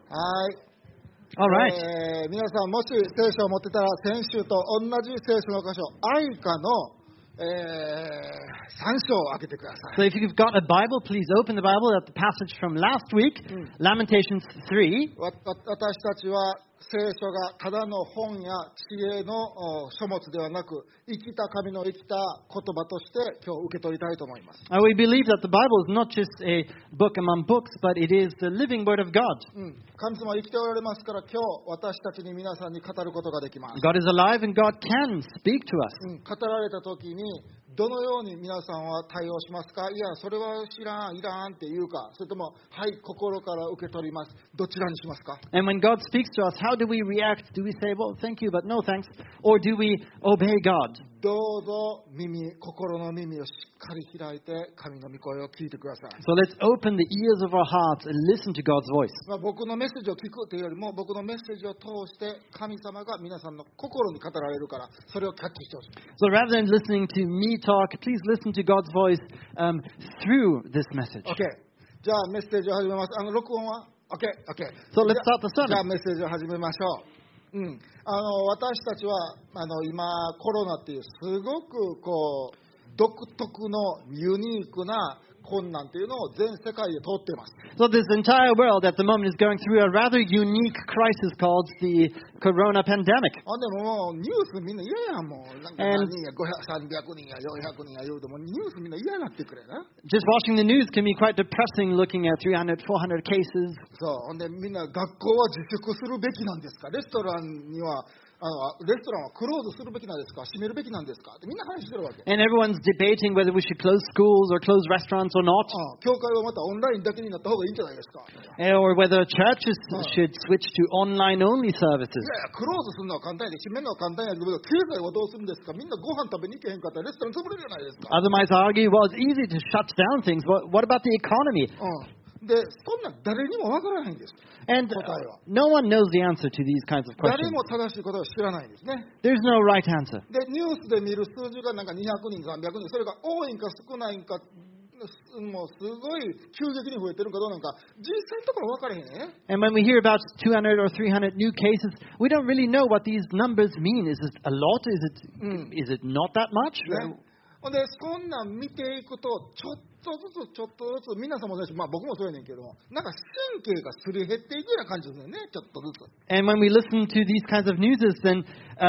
はい。 All right. 皆さんもし聖書を持ってたら先週と同じ聖書の箇所、愛歌の、3章を開けてくださ So い。 if you've got a Bible, please open the Bible at the passage from last week, Lamentations 3. 私たちは聖書がただの本や知恵の書物ではなく、生きた神の生きた言葉として今日受け取りたいと思います。 We believe that the Bible is not just a book among books, but it is the living Word of God. 神様は生きておられますから、今日私たちに皆さんに語ることができます。 God is alive and God can speak to us. 語られた時にどのように皆さんは対応しますか？いや、それは知らん、いらんっていうか、それとも、はい、心から受け取ります。どちらにしますか？ And when God speaks to us, how do we react? Do we say, well, thank you, but no thanks? Or do we obey God? どうぞ心の耳をしっかり開いて神の御声を聞いてください。 So let's open the ears of our hearts and listen to God's voice. 僕のメッセージを聞くというよりも、僕のメッセージを通して神様が皆さんの心に語られるから、それをキャッチしてほしい。 So rather than listening to me talk, please listen to God's voice through this message. OK。じゃあメッセージを始めます。録音は OK。 So let's start the じゃあ sermon. メッセージを始めましょう。私たちは今コロナっていうすごく独特のユニークな困難っていうのを全世界で通っています。 So this entire world at the moment is going through a rather unique crisis called the corona pandemic. ほんでもうニュースみんな嫌やん、もうなんか何人や300人や400人や言うてもニュースみんな嫌になってくれな。 Just watching the news can be quite depressing, looking at 300, 400 cases. そう、ほんでみんな学校は自粛するべきなんですか？レストランにはレストランはクローズするべきなんですか？閉めるべきなんですか？ってみんな話してるわけ。 And everyone's debating whether we should close schools or close restaurants or not. 教会はまたオンラインだけになった方がいいんじゃないですか？ Or whether churches should switch to online-only services. いやいや、クローズするのは簡単で、閉めるのは簡単やけど、経済はどうするんですか？みんなご飯食べに行けへんかったらレストラン潰れるじゃないですか。 Other might argue, well, it's easy to shut down things. What about the economy? で、そんなん誰にもわからないんです。 And 答えは。 no one knows the answer to these kinds of 誰 questions. も正しいことを知らないんですね。 There's no right answer. で、ニュースで見る数字がなんか200人、300人、それが多いんか少ないんか、もうすごい急激に増えてるかどうなのか、実際のところ分からへんね。 And when we hear about 200 or 300 new cases, we don't really know what these numbers mean. Is it a lot? Is it not that much? ね。ほんで、そんなん見ていくと、ちょっとずつ、皆さんもそうですし、僕もそうやねんけども、なんか神経がすり減っていくような感じですよね、ちょっとずつ。 And when we listen to these kinds of news, then,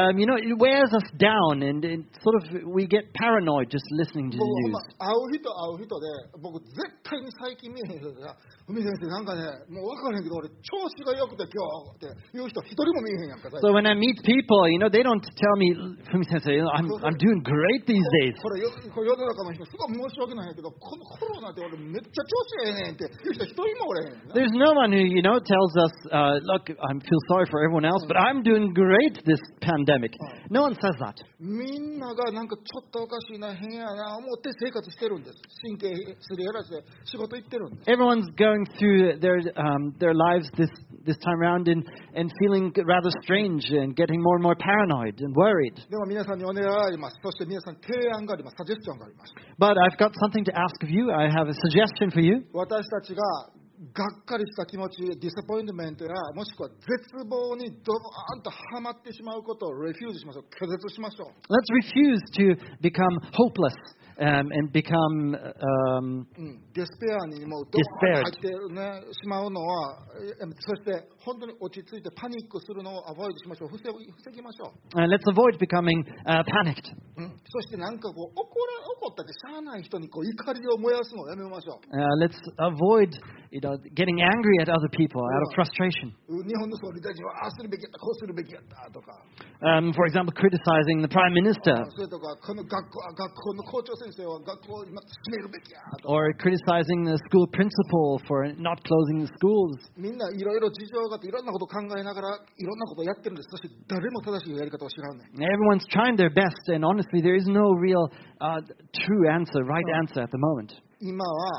it wears us down and it sort of, we get paranoid just listening to the 僕 news. 会う人で、僕絶対に最近見えへん人でさ、海先生なんかね、もう分からへんけど、俺調子が良くて今日っていう人一人も見えへんやんか。 So when I meet people, they don't tell me, Fumi-sensei, I'm doing great these days. これ世の中の人すごい申し訳ないけど、このコロナって俺めっちゃ調子ええねんっていう人一人もおれへんな。 There's no one who, tells us, look, I feel sorry for everyone else, but I'm doing great this pandemic. No one says that. みんながなんかちょっとおかしいな、変やな思って生活してるんです。神経すり減らして仕事行ってるんです。 Everyone's going through their lives this time around and feeling rather strange and getting more and more paranoid and worried. でも皆さんにお願いがあります。そして皆さんに提案があります。サジェスチョンがあります。 But I've got something to ask of you. I have a suggestion for you. 私たちががっかりした気持ち、ディスポイントメントやもしくは絶望にドバーンとはまってしまうことをレフューズしましょう。拒絶しましょう。 Let's refuse to become hopeless and become デスペアにもうドバーンと入ってね、しまうのは、そして本当に落ち着いてパニックするのをアボイドしましょう。防ぎましょう。 let's avoid becoming panicked. そしてなんか怒ったってしゃあない人に怒りを燃やすのをやめましょう。 Let's avoid getting angry at other people out of frustration. 日本の総理大臣はああするべきやったこうするべきやったとか、 For example, criticizing the prime minister それとかこの学校の校長先生は学校を今閉めるべきやとか、 or criticizing the school principal for not closing the schools. みんないろいろ事情があっていろんなことを考えながらいろんなことをやってるんです。そして誰も正しいやり方を知らんねん。 Everyone's trying their best, and honestly, there is no real true answer, right answer at the moment. 今は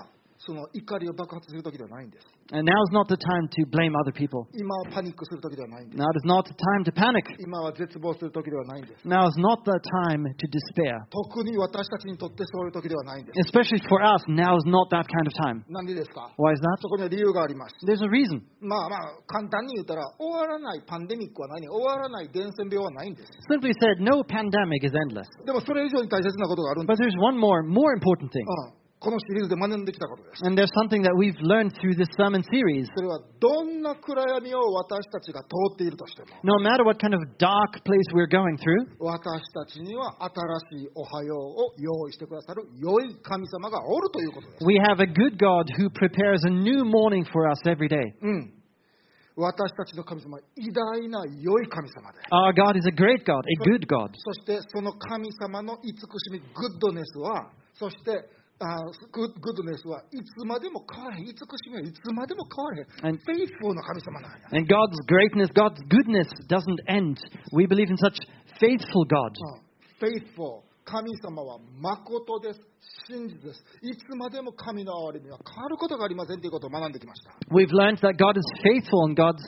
その怒りを爆発する時ではないんです。 And now is not the time to blame other people. 今はパニックする時ではないんです。 Now is not the time to panic. 今は絶望する時ではないんです。 Now is not the time to despair. 特に私たちにとってそういう時ではないんです。 Especially for us, now is not that kind of time. なんでですか？ Why is that? そこには理由があります。 There's a reason. まあ簡単に言ったら終わらないパンデミックはないね。終わらない伝染病はないんです。 Simply said, no pandemic is endless. でもそれ以上に大切なことがあるんで But す。 there's one more important thing. このシリーズで学んできたことです。 And there's something that we've learned through this sermon series. それはどんな暗闇を私たちが通っているとしても、 No matter what kind of dark place we're going through, 私たちには新しいおはようを用意してくださる良い神様がおるということです。 we have a good God who prepares a new morning for us every day. 私たちの神様は偉大な良い神様で、 Our God is a great God, a good God. そしてその神様の慈しみ、グッドネスは、そしてグッドネスはいつまでも変われへん。慈しみはいつまでも変われへん。フェイフォーな神様なんや。 And God's greatness, God's goodness doesn't end. We believe in such faithful God. フェイフォー、神様は誠です。真実です。いつまでも神の憐れみは変わることがありませんということを学んできました。 We've learned that God is faithful and God's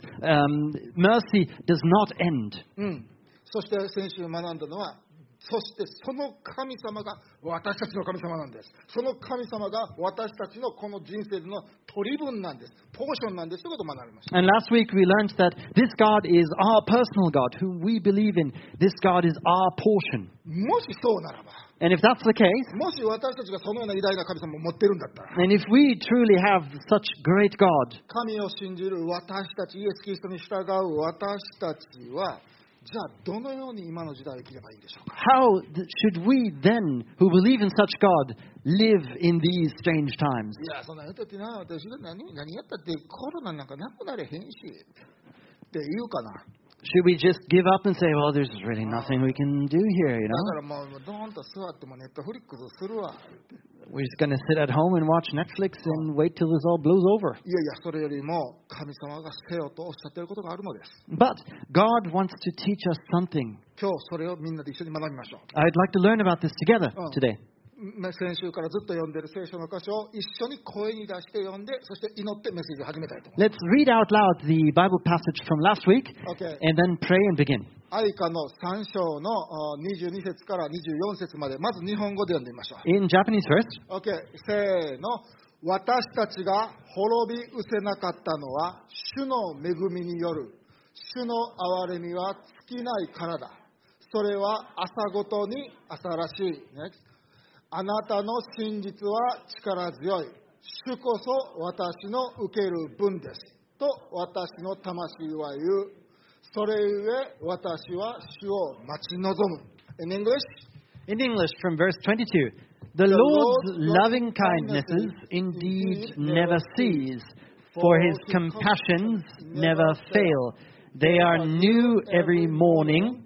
mercy does not end. そして先週学んだのは、そしてその神様が私たちの神様なんです。その神様が私たちのこの人生での取り分なんです。ポーションなんですということを学びました。 And last week we learned that this God is our personal God, whom we believe in. This God is our portion. もしそうならば、 And if that's the case, もし私たちがそのような偉大な神様を持っているんだったら、 and if we truly have such great God, 神を信じる私たち、イエス・キリストに従う私たちは、じゃあどのように今の時代を生きればいいんでしょうか。 how should we then, who believe in such God, live in these strange times? いや、そんな人ってな、私が何やったってコロナなんかなくなれへんしって言うかな。 Should we just give up and say, well, there's really nothing we can do here, you だか know? らもうドーンと座ってもネットフリックスするわ。 We're just going to sit at home and watch Netflix and wait till this all blows over. いやいや、それよりも神様がせよとおっしゃっていることがあるのです。 But God wants to teach us something. 今日それをみんなで一緒に学びましょう。 I'd like to learn about this together today. 先週からずっと読んでいる聖書の箇所を一緒に声に出して読んで、そして祈ってメッセージを始めたいと思います。 Let's read out loud the Bible passage from last week Okay. and then pray and begin. 愛歌の3章の22節から24節まで、まず日本語で読んでみましょう。 In Japanese first. OK、せーの。私たちが滅び失せなかったのは、主の恵みによる。主の憐れみは尽きないからだ。それは朝ごとに朝らしい。あなたの真実は力強い。主こそ私の受ける分です。と私の魂は言う。それゆえ私は主を待ち望む。In English? In English from verse 22. The Lord's loving kindnesses indeed never cease, for his compassions never fail. They are new every morning.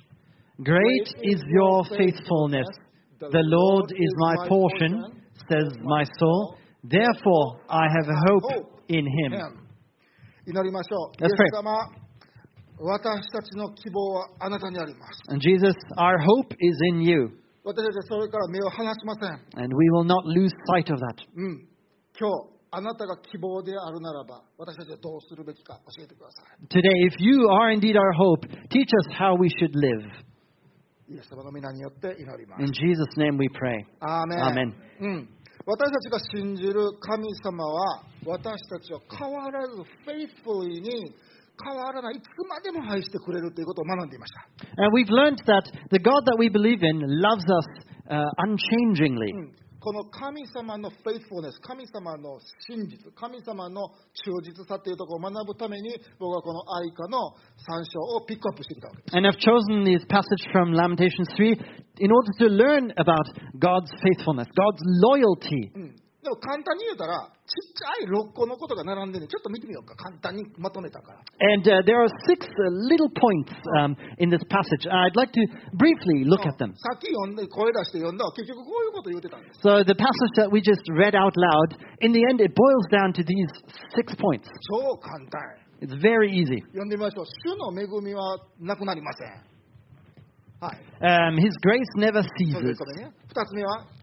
Great is your faithfulness. The Lord is my portion, says my soul. Therefore I have hope in him. 祈りましょう。 Let's イエ pray. ス様、私たちの希望はあなたにあります。 And Jesus, our hope is in you, 私たちはそれから目を離しません。 and we will not lose sight of that. 今日、あなたが希望であるならば、私たちはどうするべきか教えてください。 Today, if you are indeed our hope, teach us how we should live. イエス様の皆によって祈りま In す。 Jesus' name we pray. アーメン。 Amen. 私たちが信じる神様は、私たちを変わらず、フェイスフルに変わらない、いつまでも愛してくれるということを学んでいました。 And we've learned that the God that we believe in loves us unchangingly. この神様のフェイスフルネス、神様の真実、神様の忠実さというところを学ぶために、僕はこの愛歌の3章をピックアップしてきたわけです。 And I've chosen this passage from Lamentations 3 in order to learn about God's faithfulness, God's loyalty. でも簡単に言うたら、ちっちゃい6個のことが並んでるんで、ちょっと見てみようか。簡単にまとめたから。 And there are 6 little points in this passage. I'd like to briefly look at them. さっき読んで、声出して読んだら、結局こういうこと言ってたんです。 So the passage that we just read out loud, in the end it boils down to these 6 points. 超簡単。 It's very easy. 読んでみましょう。主の恵みはなくなりません。はい。 His grace never それ ceases. 1個目ね。2つ目は、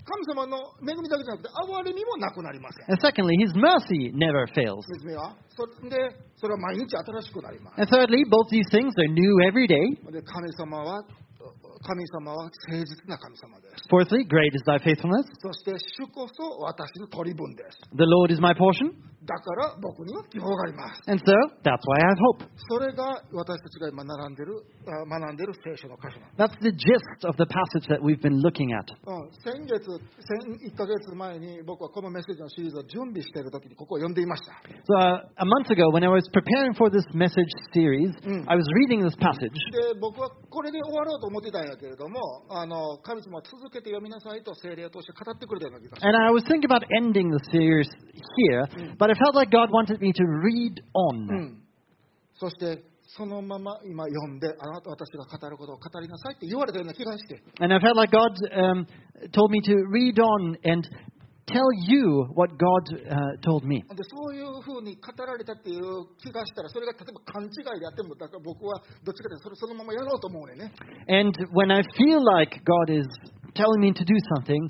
神様の恵みだけじゃなくて憐れみもなくなりません。 And secondly, His mercy never fails. 説明はそれは毎日新しくなります。 And thirdly, both these things are new every day. で神様は誠実な神様です。 Fourthly, great is thy faithfulness. そして主こそ私の取り分です。 The Lord is my portion. だから僕には希望があります。 And so, that's why I have hope. それが私たちが今学んでいる聖書の箇所なんです。 That's the gist of the passage that we've been looking at. 1ヶ月前に僕はこのメッセージのシリーズを準備しているときにここを読んでいました。 So, a month ago, when I was preparing for this message series, I was reading this passage. で僕はこれで終わろうと思ってたんやけれども、神様は続けて読みなさいと聖霊を通して語ってくれたような気がします。 And I was thinking about ending the series here, but I felt like God wanted me to read on. そしてそのまま今読んで、私が語ることを語りなさいって言われたような気がして、 And I felt like God told me to read on and tell you what God told me. でそういうふうに語られたっていう気がしたら、それが例えば勘違いであっても、だから僕はどっちかというとそのままやろうと思うね。 And when I feel like God is telling me to do something,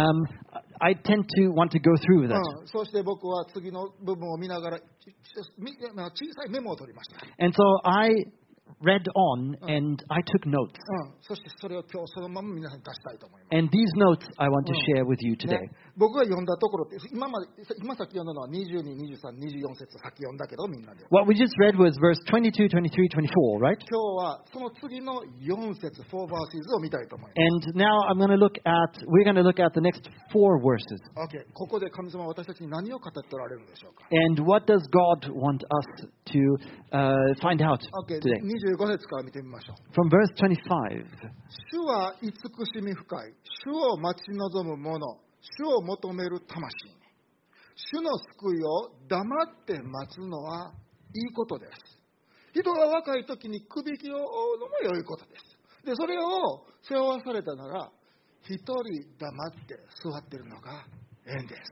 I tend to want to go through with it. そして僕は次の部分を見ながら小さいメモを取りました。 And so I read on and I took notes. そしてそれを今日そのまま皆さんに出したいと思います。 And these notes I want to share with you today. 僕が読んだところって、今さっき読んだのは22、23、24節さっき読んだけどみんなで。 What we just read was verse 22, 23, 24, right? 今日はその次の4節、4 verses を見たいと思います。 And now we're going to look at the next 4 verses. Okay. ここで神様は私たちに何を語っておられるのでしょうか。 And what does God want us to find out Okay. today? 25節から見てみましょう。 From verse 25. 主は慈しみ深い。主を待ち望む者。主を求める魂。主の救いを黙って待つのはいいことです。人が若い時にくびきを追うのも良いことです。で、それを背負わされたなら、一人黙って座っているのが縁です。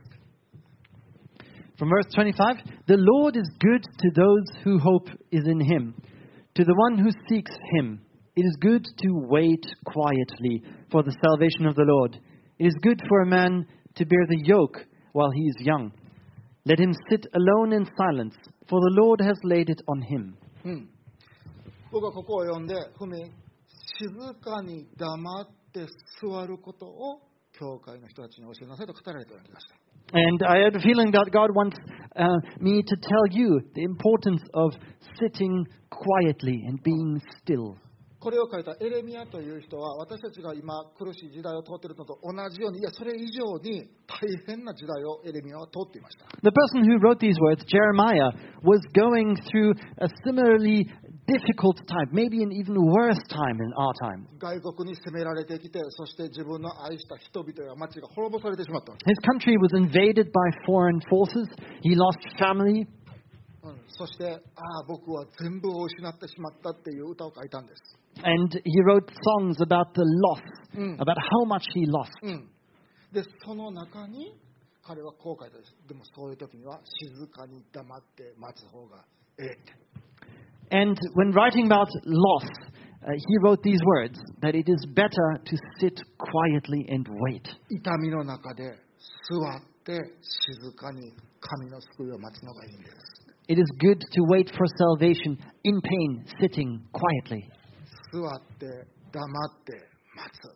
From verse 25, the Lord is good to those whose hope is in Him. To the one who seeks Him, it is good to wait quietly for the salvation of the Lord. It is good for a man to bear the yoke while he is young. Let him sit alone in silence, for the Lord has laid it on him. 僕はここを読んで、静かに黙って座ることを教会の人たちに教えなさいと語られたような気がした。 And I had a feeling that God wants me to tell you the importance of sitting quietly and being still. これを書いたエレミヤという人は、私たちが今苦しい時代を通っているのと同じように、いやそれ以上に大変な時代をエレミヤは通っていました。 The person who wrote these words, Jeremiah, was going through a similarly difficult time, maybe an even worse time in our time. 外国に攻められてきて、そして自分の愛した人々や町が滅ぼされてしまった。 His country was invaded by foreign forces. He lost family. そして、僕は全部を失ってしまったっていう歌を書いたんです。 And he wrote songs about the loss, about how much he lost. で、その中に彼はこう書いたんです。でもそういう時には静かに黙って待つ方がええって。 And when writing about loss, he wrote these words, that it is better to sit quietly and wait. 痛みの中で座って静かに神の救いを待つのがいいんです。 It is good to wait for salvation in pain, sitting quietly. 座って黙って待つって。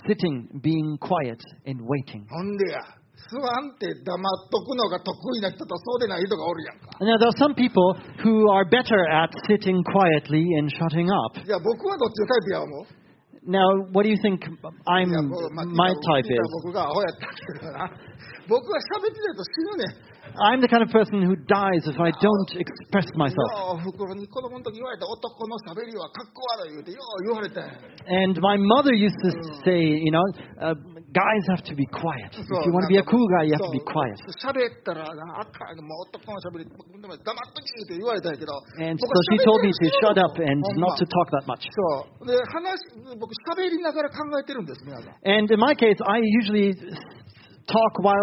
Sitting, being quiet, and waiting. ほんでや、座って黙っとくのが得意な人とそうでない人がおるやんか。 Now, there are some people who are better at sitting quietly and shutting up. いや、僕はどっちのタイプや思う。 Now, what do you think my type is? 僕がアホやったけどな。僕は喋ってないと死ぬねん。 I'm the kind of person who dies if I don't express myself. よう袋に子供の時言われた男の喋りはかっこ悪い言うてよう言われて。 And my mother used to say, guys have to be quiet. If you want to be a cool guy, you have to be quiet. 喋ったらなあかんもう男の喋り黙っときって言われたんやけど。 And so she told me to shut up and not to talk that much. そうで僕喋りながら考えてるんです皆さん。 And in my case, I usually talk while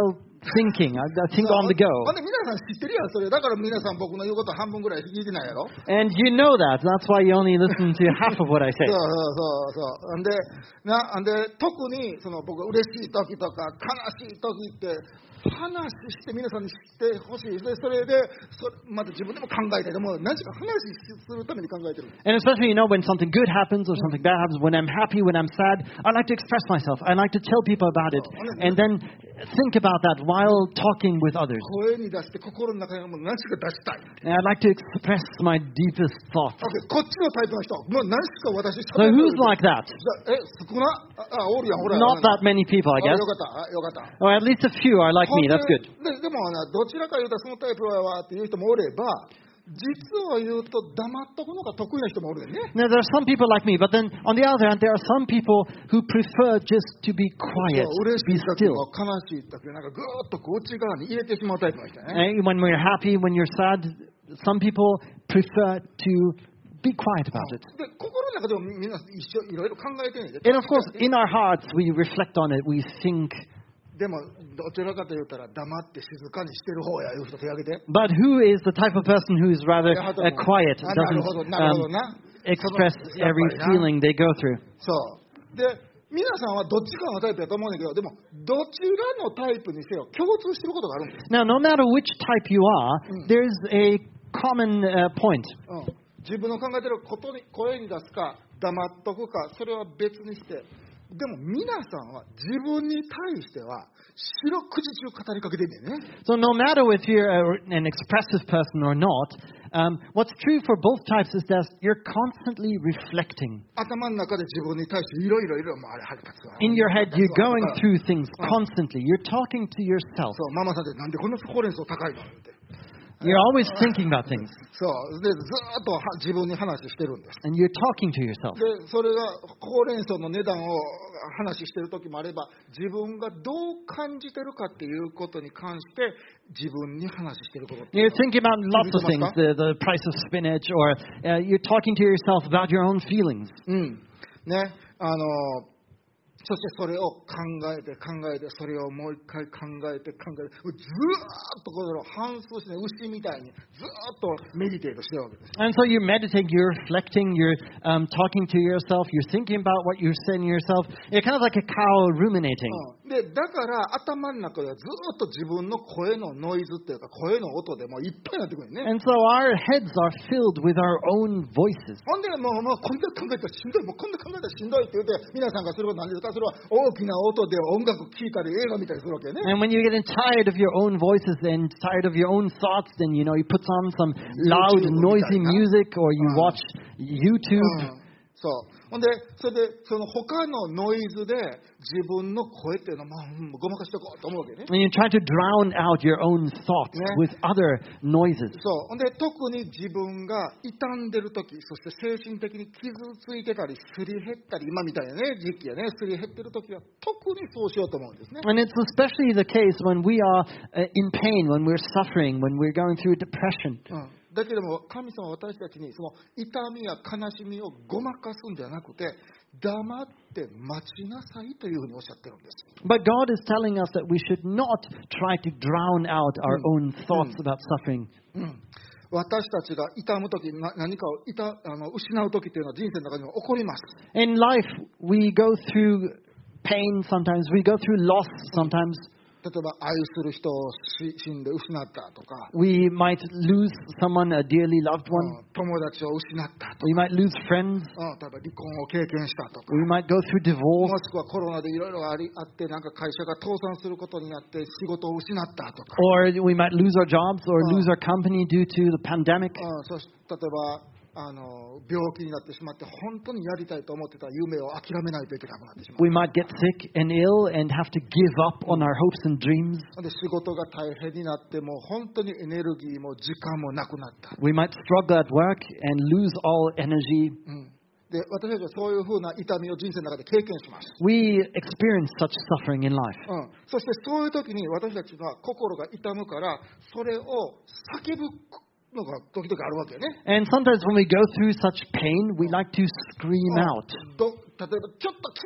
thinking. I think on the go. ほんで皆さん知ってるやん、それ。だから皆さん僕の言うこと半分ぐらい聞いてないやろ。 And you know that. That's why you only listen to half of what I そ say. うほんで特にその僕嬉しい時とか悲しい時って話して皆さんに知ってほしい。でそれでまた自分でも考えてでも何しか話するために考えてる。 And especially, when something good happens or something bad happens, when I'm happy, when I'm sad, I like to express myself. I like to tell people about it. And then think about that while talking with others. 声に出して心の中にもう何しか出したい。 And I'd like to express my deepest thoughts. こっちのタイプの人もう何しか私 So who's like that? 少なおるやんほら。 Not that many people, I よ guess. かった。 Or at least a few are like me. That's good. でもどちらか言うとそのタイプはっていう人もおれば、実は言うと黙っとくのが得意な人もおるよね。 Now, there are some people like me, but then on the other hand, there are some people who prefer just to be quiet, 嬉し be い時 still. も悲しい時もなんかぐーっと内側に入れてしまうタイプの人ね。 When we're happy, when you're sad, some people prefer to be quiet about it. で心の中でもみんな一緒いろいろ考えてるんで。 And of course, in our hearts, we reflect on it, we think. でもどちらかと言ったら黙って静かにしてる方やいう人手挙げて。 But who is the type of person who is rather quiet, なるほど doesn't なるほどな。 express やっぱ every りな feeling they go through? そうで皆さんはどっちかのタイプだと思うんだけど、でもどちらのタイプにせよ共通してることがあるんです。 Now, no matter which type you are, there's a common point. 自分の考えてることに声に出すか黙っとくかそれは別にして、でも皆さんは自分に対しては四六時中語りかけてんねんね。 So no matter if you're an expressive person or not, what's true for both types is that you're constantly reflecting. 頭の中で自分に対していろいろもうあれ腹立つわ。 In your head, you're going そう through things constantly. You're talking to yourself. そうママさんってなんでこんなほうれん草高いのって。 You're always thinking about things. そうでずーっと自分に話してるんです。 And you're talking to yourself. でそれがほうれん草の値段を話してる時もあれば、自分がどう感じてるかっていうことに関して自分に話してることっていう You're thinking about lots of things, the price of spinach, or you're talking to yourself about your own feelings. ね、そしてそれを考えてそれをもう一回考えてずーっとこれを反芻して、牛みたいにずーっとメディテートしてるわけです。 And so you're meditating, you're reflecting, you're talking to yourself, you're thinking about what you're saying to yourself. You're kind of like a cow ruminating. でだから頭の中ではずーっと自分の声のノイズっていうか声の音でもういっぱいになってくるよね。 And so our heads are filled with our own voices. ほんでもうこんな考えたらしんどい、もうこんな考えたらしんどいって言って皆さんがすることなんですか。それは大きな音で音楽聴いたり映画見たりするわけよね。 And when you're getting tired of your own voices and tired of your own thoughts, then you put on some loud, noisy music, or you watch YouTube. そうほんでそれでその他のノイズで自分の声っていうのをごまかしていこうと思うわけね。 And you try to drown out your own thoughts with other noises. そうほんで特に自分が傷んでる時、そして精神的に傷ついてたりすり減ったり、今みたいなね時期やね、すり減ってる時は特にそうしようと思うんですね。 And it's especially the case when we are in pain, when we're suffering, when we're going through depression. だけども神様は私たちにその痛みや悲しみをごまかすんじゃなくて、黙って待ちなさいというふうにおっしゃってるんです。 But God is telling us that we should not try to drown out our own thoughts about suffering. 私たちが痛むとき、何かを失うときというのは人生の中にも起こります。 In life, we go through pain sometimes, we go through loss sometimes. 例えば愛する人を死んで失ったとか、 We might lose someone, a dearly loved one. 友達を失ったとか、 We might lose friends. 例えば離婚を経験したとか、 We might go through divorce. もしくはコロナでいろいろあってなんか会社が倒産することになって仕事を失ったとか、 Or we might lose our jobs or lose our company due to the pandemic. そして例えば病気になってしまって本当にやりたいと思ってた夢を諦めないといけなくなってしまう。 We might get sick and ill and have to give up on our hopes and dreams. で仕事が大変になってもう本当にエネルギーも時間もなくなった。 We might struggle at work and lose all energy. で私たちはそういうふうな痛みを人生の中で経験します。 We experience such suffering in life. そしてそういう時に私たちは心が痛むからそれを叫ぶのが時々あるわけよね。 And sometimes when we go through such pain, we like to scream out. 例えばちょっと聞いて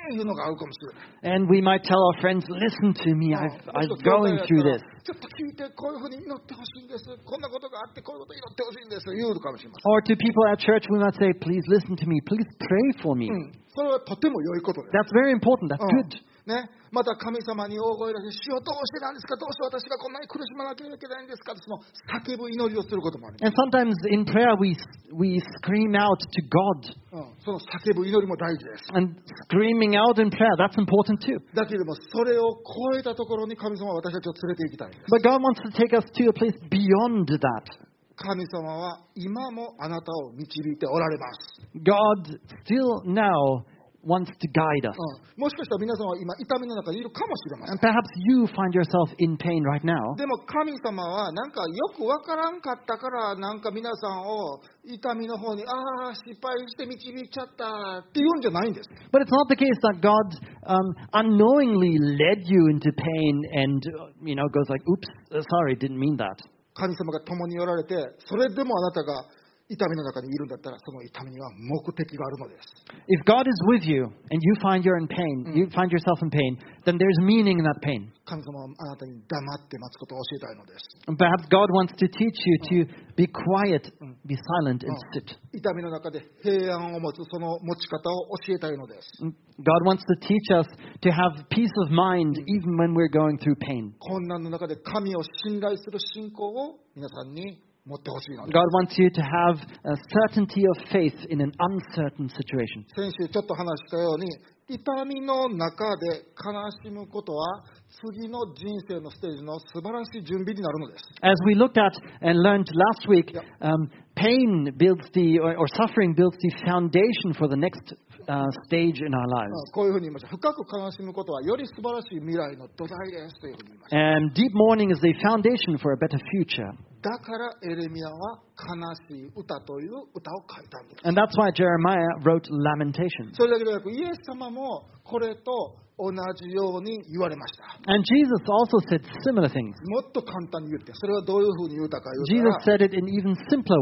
いうのが合うかもしれない。 And we might tell our friends, listen to me, I'm going through this. ちょっと聞いて、こういうふうに祈ってほしいんです。こんなことがあって、こういうこと祈ってほしいんです。言うかもしれません。 Or to people at church, we might say, please listen to me, please pray for me. それはとても良いことです。 That's very important, that's good. ね、また神様に大声出して、主よどうしてなんですか、どうして私がこんなに苦しまなきゃいけないんですか、その叫ぶ祈りをすることもあります。 And sometimes in prayer we scream out to God. その叫ぶ祈りも大事です。 And screaming out in prayer, that's important too. だけれども、それを超えたところに神様は私たちを連れて行きたいんです。 But God wants to take us to a place beyond that. 神様は今もあなたを導いておられます。 God still now wants to guide us. もしかしたら皆さんは今痛みの中にいるかもしれません。 And perhaps you find yourself in pain right now. でも神様はなんかよくわからんかったからなんか皆さんを痛みの方に失敗して導いちゃったっていうんじゃないんです。 But it's not the case that God unknowingly led you into pain and, goes like, oops, sorry, didn't mean that. 神様が共におられて、それでもあなたが痛みの中にいるんだったら、その痛みには目的があるのです。 If God is with you and you find you're in pain, you find yourself in pain, then there's meaning in that pain. 神様はあなたに黙って待つことを教えたいのです。 And perhaps God wants to teach you to be quiet, be silent and sit. 痛みの中で平安を持つその持ち方を教えたいのです。 God wants to teach us to have peace of mind even when we're going through pain. 困難の中で神を信頼する信仰を皆さんに持ってほしいのです。 God wants you to have a certainty of faith in an uncertain situation. 先週ちょっと話したように、痛みの中で悲しむことは次の人生のステージの素晴らしい準備になるのです。 As we looked at and learned last week, pain builds or suffering builds the foundation for the next stage in our lives. こういうふうに言いました。深く悲しむことはより素晴らしい未来の土台ですというふうに言いました。 And deep mourning is the foundation for a better future. だからエレミヤは悲しい歌という歌を書いたんです。 And that's why Jeremiah wrote Lamentations. それだけでなく、イエス様もこれと同じように言われました。 And Jesus also said similar things. もっと簡単に言って、それはどういうふうに言うたか言う Jesus たら、 said it in even simpler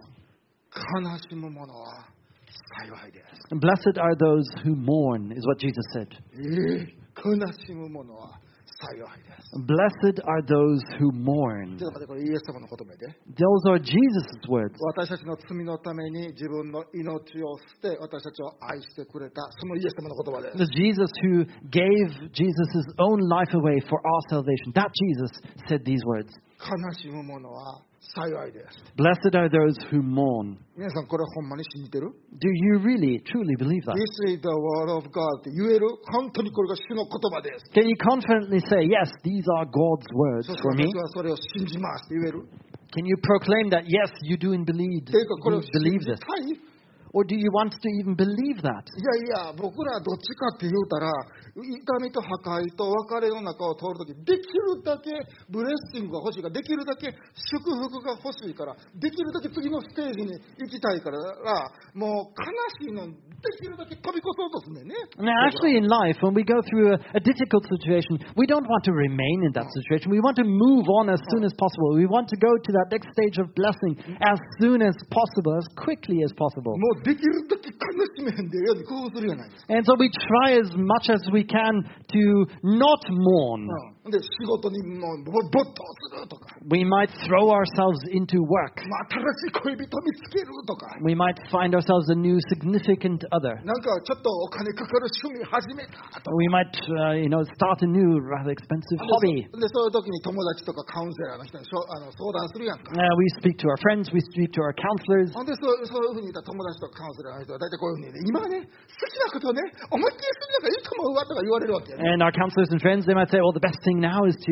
words. 悲しむ者は幸いです。 Blessed are those who mourn, is what Jesus said. 悲しむ者は幸いです。 Blessed are those who mourn. ちょっと待って、これイエス様の言葉で。 Those are Jesus' words. 私たちの罪のために自分の命を捨て、私たちを愛してくれた、そのイエス様の言葉です。 The Jesus who gave Jesus' own life away for our salvation. That Jesus said these words. 悲しむ者は幸いです。 Blessed are those who mourn. 皆さん、これほんまに信じてる？ Do you really, truly believe that? This is the word of God って言える？本当にこれが主の言葉です。 Can you confidently say, yes, these are God's words そして for me? 私はそれを信じますって言える？ Can you proclaim that, yes, you do indeed っていうか、これを you 信 believe じ this? たい？ Or do you want to even believe that? いやいや、僕らどっちかって言うたら、痛みと破壊と別れの中を通るとき、できるだけブレッシングが欲しいから、できるだけ祝福が欲しいから、できるだけ次のステージに行きたいから、もう悲しいのできるだけ飛び越そうとすんねんね。 Now, actually, in life, when we go through a difficult situation, we don't want to remain in that situation. We want to move on as soon as possible. We want to go to that next stage of blessing as soon as possible, as quickly as possible. もうできるだけ悲しめへんでように工夫するじゃないですか。 And so we try as much as we can to not mourn. で、仕事にもう没頭するとか、 We might throw ourselves into work. 新しい恋人見つけるとか、 We might find ourselves a new significant other. なんかちょっとお金かかる趣味始めたとか。 We might, start a new, rather expensive hobby. で、そういう時に友達とかカウンセラーの人に相談するやんか。 We speak to our friends, we speak to our counselors. ほんでそういうふうに言ったら友達とかカウンセラーの人は大体こういうふうにね、今ね、好きなことをね、思いっきりするのがいいと思うわとか言われるわけやね。 And our counselors and friends, they might say, well, the best thing now is to,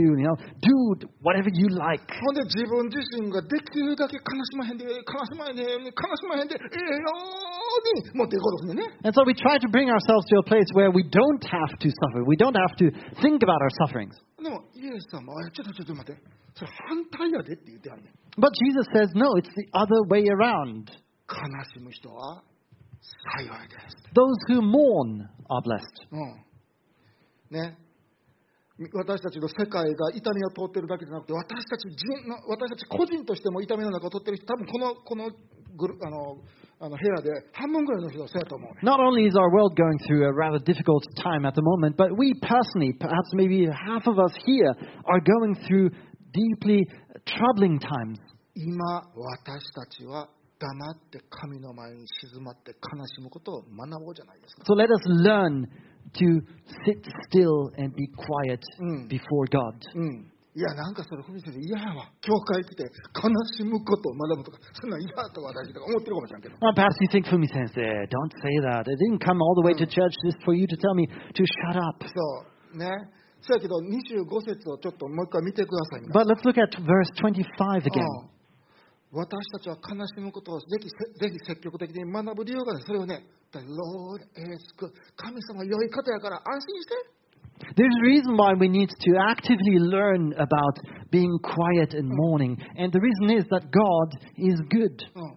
do whatever you like. ほんで自分自身ができるだけ悲しまへんで、悲しまへんで、悲しまへんで、ように持っていこうとするね。 And so we try to bring ourselves to a place where we don't have to suffer. We don't have to think about our sufferings. でも、イエス様は、ちょっと待って、それ反対やでって言ってはんねん。 But Jesus says, no, it's the other way around. 悲しむ人は幸いです。 Those who mourn are blessed. ね。私たちの世界が痛みを通っているだけじゃなくて、私たち個人としても痛みの中を通っている人、多分この部屋で半分ぐらいの人はそうやと思うね。 Not only is our world going through a rather difficult time at the moment, but we personally, perhaps maybe half of us here, are going through deeply troubling times. 今私たちは黙って神の前に静まって悲しむことを学ぼうじゃないですか。 So let us learn to sit still and be quiet before God. いやなんかそれふみ先生嫌やわ。教会来て悲しむことを学ぶとかそんなん嫌だとか私とか思ってるかもしれんけど。 Well, perhaps you think, Fumi-sensei, don't say that. I didn't come all the way to church just for you to tell me to shut up. そうね。そうやけど25節をちょっともう一回見てください。 But let's look at verse 25 again. 私たちは悲しむことをぜひ積極的に学ぶ理由がね、それをね、The Lord is good。神様良い方やから安心して。 There's a reason why we need to actively learn about being quiet and mourning. And the reason is that God is good.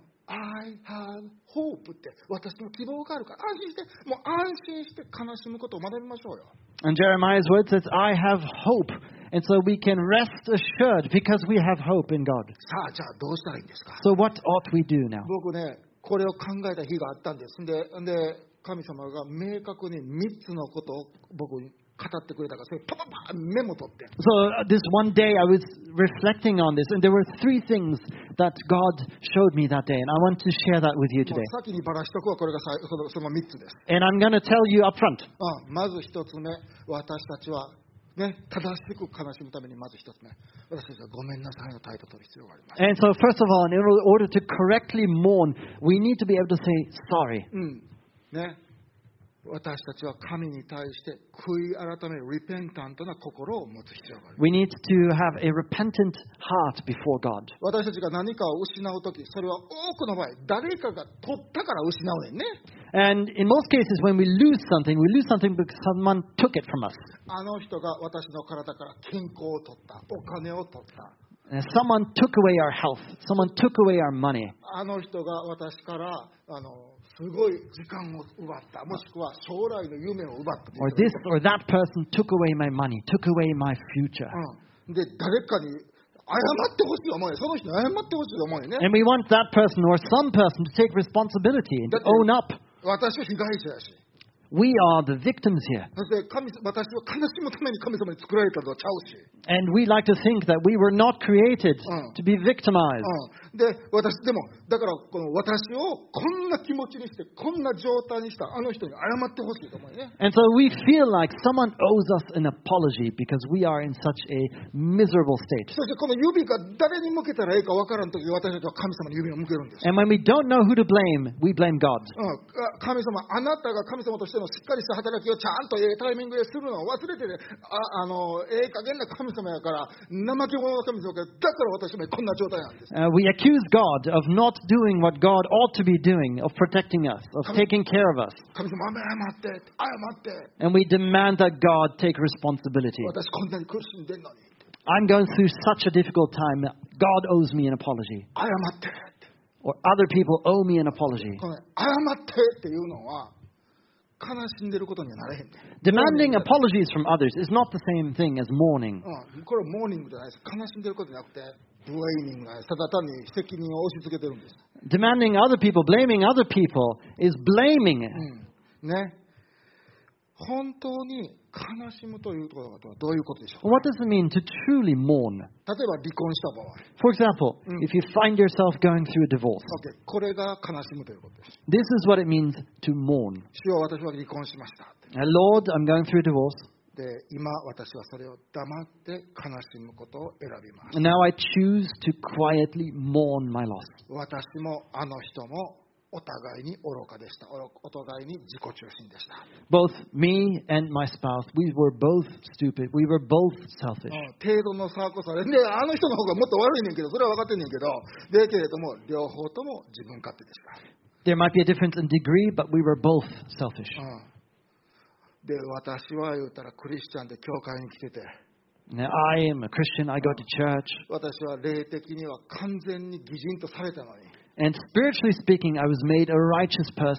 I have hope って私の希望があるから安心して、もう安心して悲しむことを学びましょうよ。 And Jeremiah's word says, I have hope. And so we can rest assured because we have hope in God. さあ、じゃあどうしたらいいんですか。 So what ought we do now? 僕ね、これを考えた日があったんです。で、神様が明確に3つのことを僕に語ってくれたから、それパパパメモ取って。 So this one day I was reflecting on this, and there were 3 things that God showed me that day, and I want to share that with you も today. う先にばらしとくわ、これがその3つです。 And I'm going to tell you up front. まず1つ目、私たちは、ね、正しく悲しむためにまず1つ目、私たちはごめんなさいの態度を取る必要があります。 And so first of all, in order to correctly mourn, we need to be able to say sorry. ね、私たちは神に対して悔い改めるリペンタントな心を持つ必要がある。 We need to have a repentant heart before God. 私たちが何かを失うとき、それは多くの場合、誰かが取ったから失うねんね。 And in most cases, when we lose something because someone took it from us. あの人が私の体から健康を取った、お金を取った。 Someone took away our health. Someone took away our money. あの人が私からすごい時間を奪った、もしくは将来の夢を奪った。 Or this or that person took away my money, took away my future. で、誰かに謝ってほしいと思うよ。その人に謝ってほしいと思うよね。 And we want that person or some person to take responsibility and to own up. 私は被害者やし。 We are the victims here. そして私は悲しむために神様に作られたのはちゃうし。 And we like to think that we were not created to be victimized. で、でも、だからこの私をこんな気持ちにして、こんな状態にしたあの人に謝ってほしいと思うよね。 And so we feel like someone owes us an apology because we are in such a miserable state. そしてこの指が誰に向けたらいいかわからんとき、私たちは神様に指を向けるんです。 And when we don't know who to blame, we blame God. 神様、あなたが神様としてのしっかりした働きをちゃんとタイミングでするのを忘れてね、加減な神様やから、怠け者の神様やから、だから私もこんな状態なんです。 We accuse God of not doing what God ought to be doing, of protecting us, of taking care of us. 神様、謝って、謝って。 And we demand that God take responsibility. 私こんなに苦しんでんのに。 I'm going through such a difficult time. God owes me an apology. 謝って。 Or other people owe me an apology. この謝ってっていうのは悲しんでることにはなれへんね。 Demanding apologies from others is not the same thing as mourning. これはモーニングじゃないです。悲しんでることじゃなくて、ブレイミングなんです。ただ単に責任を押し付けてるんです。 Demanding other people, blaming other people is blaming. ね。本当に悲しむということはどういうことでしょうか。 What does it mean to truly mourn? 例えば離婚した場合。 For example, if you find yourself going through a divorce, OK、これが悲しむということです。 this is what it means to mourn. 主よ、私は離婚しました。 Lord, I'm going through a divorce. で、今私はそれを黙って悲しむことを選びます。 And now I choose to quietly mourn my loss. 私もあの人もお互いに愚かでした。お互いに自己中心でした。 Both me and my spouse, we were both stupid. We were both selfish. 程度の差こそあれで、あの人の方がもっと悪いねんけど、それは分かってんねんけど、でけれども両方とも自分勝手でした。 There might be a difference in degree, but we were both selfish. で、私は言うたらクリスチャンで教会に来てて、 Now, I am a Christian. I go to church. 私は霊的には完全に義人とされたのに、 And spiritually speaking, I was made a righteous person.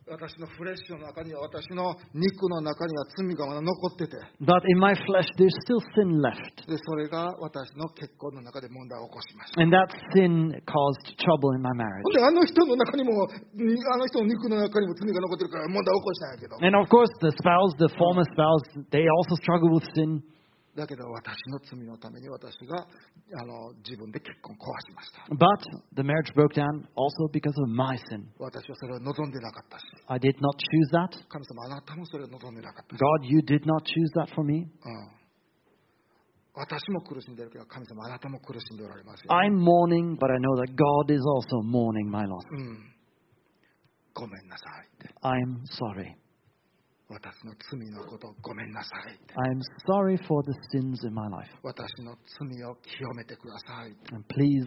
私のフレッシュの中には、私の肉の中には罪がまだ残ってて、 But in my flesh, there's still sin left. でそれが私の結婚の中で問題を起こしました。 And that sin caused trouble in my marriage. であの人の中にも、あの人の肉の中にも罪が残ってるから問題を起こしたんやけど、 And of course, the former spouse, they also struggle with sin. だけど私の罪のために私が自分で結婚壊しました。 But the marriage broke down also because of my sin. 私はそれを望んでなかったし、 I did not choose that. 神様あなたもそれを望んでなかったし、 God, you did not choose that for me. 私も苦しんでるけど神様あなたも苦しんでおられますよ、 I'm mourning, but I know that God is also mourning my loss. ごめんなさいって、 I'm sorry. 私の罪のことごめんなさいって、 I'm sorry for the sins in my life. 私の罪を清めてくださいって、 And please,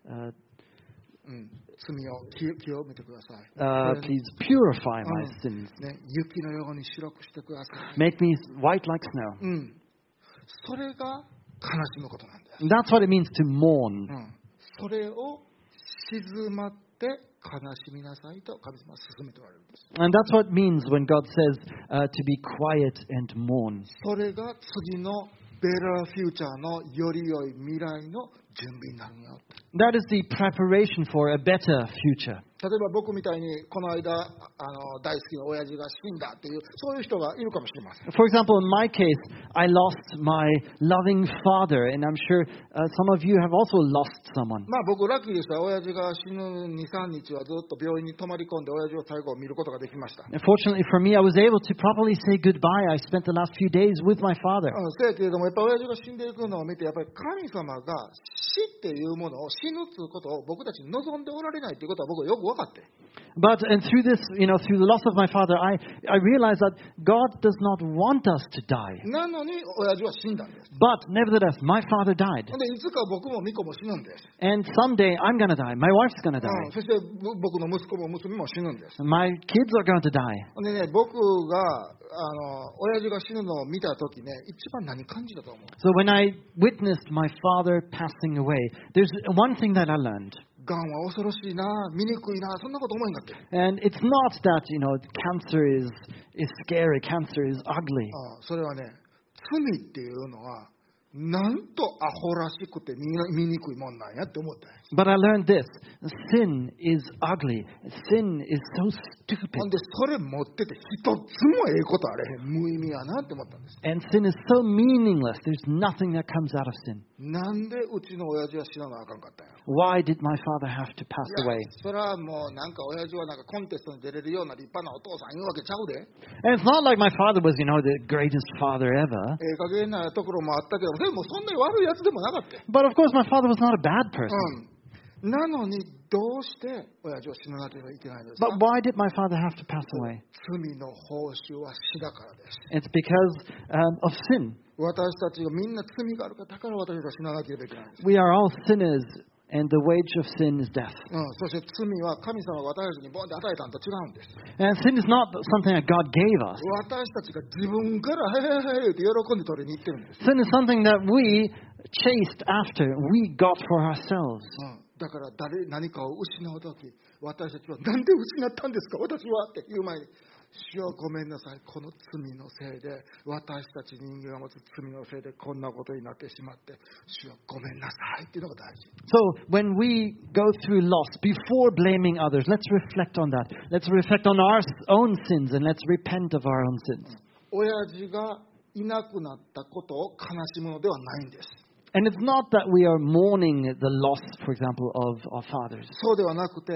罪を清めてください、 please purify my sins. ね、雪のように白くしてください、 Make me white like snow. それが悲しむことなんです、 That's what it means to mourn. それを静まって悲しみなさいと神様は勧めておられるんです。 And that's what it means when God says to be quiet and mourn. それが次のベラーフューチャーのより良い未来の準備になるよ。 That is the preparation for a better future. 例えば僕みたいにこの間大好きな親父が死んだっていうそういう人がいるかもしれません。 For example, in my case, I lost my loving father, and I'm sure some of you have also lost someone. まあ僕ラッキーでした。親父が死ぬ 2,3 日はずっと病院に泊まり込んで親父を最後見ることができました。 Fortunately for me, I was able to properly say goodbye. I spent the last few days with my father. せやけれどもやっぱ親父が死んでいくのを見てやっぱり神様が死っていうものを死ぬっていうことを僕たちに望んでおられないということは僕はよく分かって。 But and through this, through the loss of my father, I realized that God does not want us to die. なのに親父は死んだんです。 But nevertheless, my father died. でいつか僕もミコも死ぬんです。 And someday I'm going to die. My wife's going to die. そして僕の息子も娘も死ぬんです。 My kids are going to die. でね、僕が親父が死ぬのを見たときね、一番何感じたと思う？ So when I witnessed my father passing away, there's one thing that I learned. がんは恐ろしいな、醜いな、そんなこと思えんかって。 And it's not that, cancer is scary, cancer is ugly. それはね、罪っていうのは、なんとアホらしくて醜いもんなんやって思ったんです。 But I learned this. Sin is ugly. Sin is so stupid. ほんで、それ持ってて一つもええことあれへん。無意味やなって思ったんです。 And sin is so meaningless. There's nothing that comes out of sin. なんでうちの親父は死ななあかんかったんや。 Why did my father have to pass いや away? それはもうなんか親父はなんかコンテストに出れるような立派なお父さんいうわけちゃうで。 And it's not like my father was, the greatest father ever. 加減なところもあったけど、でもそんなに悪いやつでもなかったよ。 But of course, my father was not a bad person. なのにどうして親父は死ななければいけないんですか？ But why did my father have to pass away? 罪の報酬は死だからです。 It's because of sin. 私たちがみんな罪があるから、だから私たちが死ななければいけないんです。 We are all sinners, and the wage of sin is death. そして罪は神様が私たちにボンって与えたのと違うんです。 And sin is not something that God gave us. 私たちが自分から「へへへ」って喜んで取りに行ってるんです。 Sin is something that we chased after, we got for ourselves. だから何かを失うとき、私たちはなんで失ったんですか私はって言う前に、主よごめんなさい、この罪のせいで、私たち人間が持つ罪のせいでこんなことになってしまって、主よごめんなさいっていうのが大事。 So when we go through loss, before blaming others, let's reflect on that. Let's reflect on our own sins and let's repent of our own sins. 親父がいなくなったことを悲しむのではないんです。 And it's not that we are mourning the loss, for example, of our fathers. そうではなくて、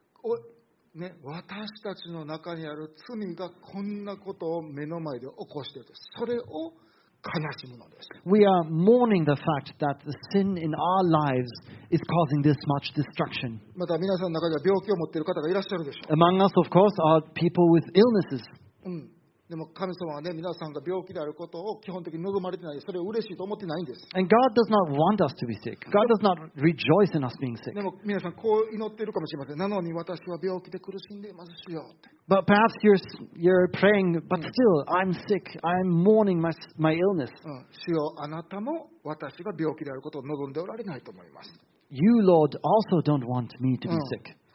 私たちの中にある罪がこんなことを目の前で起こしていると、それを悲しむのです。 We are mourning the fact that the sin in our lives is causing this much destruction. また皆さんの中には病気を持っている方がいらっしゃるでしょう。 Among us, of course, are people with illnesses. でも神様はね、皆さんが病気であることを基本的に望まれてない。それを嬉しいと思ってないんです。 And God does not want us to be sick. God does not rejoice in us being sick. でも皆さんこう祈っているかもしれません。なのに私は病気で苦しんでいますよって。 But perhaps you're praying, but still, I'm sick. I'm mourning my illness. 主よあなたも私が病気であることを望んでおられないと思います。 You, Lord, also don't want me to be sick.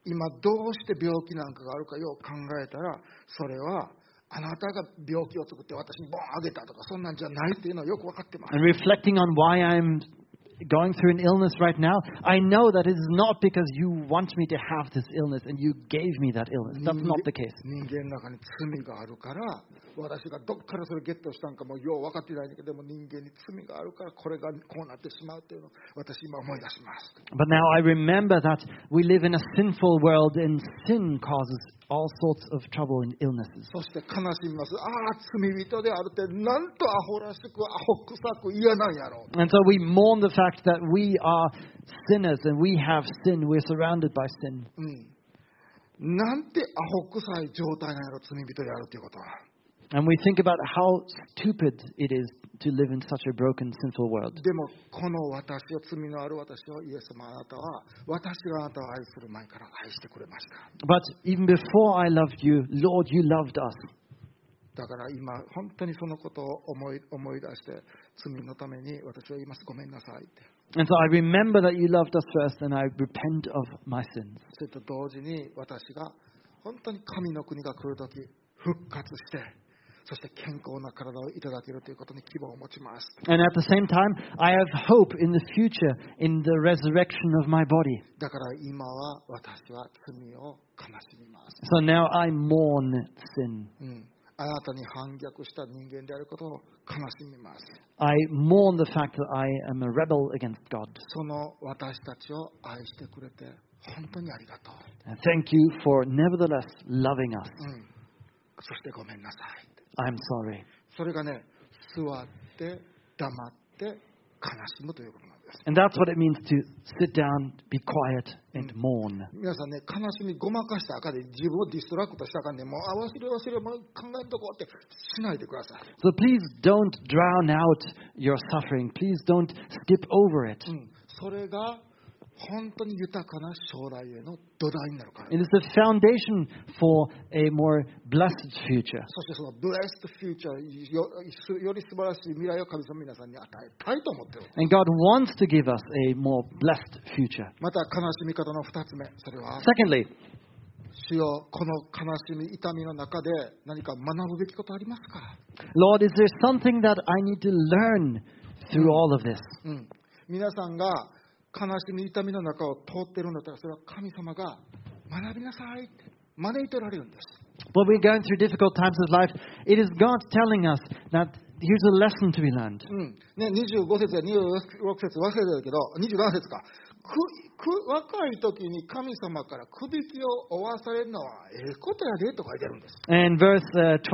今どうして病気なんかがあるかよう考えたら、それはあなたが病気を作って私にボンあげたとかそんなんじゃないっていうのはよく分かってます。 And reflecting on why I'm going through an illness right now, I know that it is not because you want me to have this illness and you gave me that illness. That's not the case. 人間の中に罪があるから、私がどっからそれゲットしたんかもよう分かってないんだけど、でも人間に罪があるからこれがこうなってしまうっていうのを私今思い出します。 But now I remember that we live in a sinful world and sin causes all sorts of trouble and illnesses. そして悲しみます。ああ、罪人であるってなんとアホらしくアホ臭く嫌なんやろう。 And so we mourn the fact that we are sinners and we have sin. We're surrounded by sin. なんてアホ臭い状態なんやろ、罪人であるということは。 And we think about how stupid it is to live in such a broken, sinful world. でもこの私を、罪のある私をイエス様あなたは、私があなたを愛する前から愛してくれました。 But even before I loved you, Lord, you loved us. だから今本当にそのことを思い出して、罪のために私は言います。ごめんなさいって。 And so I remember that you loved us first, and I repent of my sins. それと同時に私が本当に神の国が来るとき復活して、そして健康な体をいただけるということに希望を持ちます。 And at the same time, I have hope in the future in the resurrection of my body. だから今は私は罪を悲しみます。 So now I mourn sin. あなたに反逆した人間であることを悲しみます。 I mourn the fact that I am a rebel against God. その私たちを愛してくれて本当にありがとう。 And thank you for nevertheless loving us. そしてごめんなさい。 I'm sorry. それがね、座って黙って悲しむということなんです。 And that's what it means to sit down, be quiet, and mourn. 皆さんね、悲しみごまかしたらあかんで、自分をディストラクトしたらあかんで、もう忘れもう考えんとこうってしないでください。 So please don't drown out your suffering. Please don't skip over it. それが本当に豊かな将来への土台になるから。 It is the foundation for a more blessed future. そしてそのブレストフューチャーより素晴らしい未来を神様皆さんに与えたいと思っている。 And God wants to give us a more blessed future. また悲しみ方の2つ目、それは Secondly, 主よ、この悲しみ痛みの中で何か学ぶべきことありますか？ Lord, is there something that I need to learn through all of this? 皆さんが悲しみ痛みの中を通っているんだったら、それは神様が学びなさいって招いておられるんです。 When we're going through difficult times of life, it is God telling us that here's a lesson to be learned. ね、25節や26節忘れてるけど、27節か。若い時に神様からくびきを負わされるのはええことやでと書いてあるんです。 And verse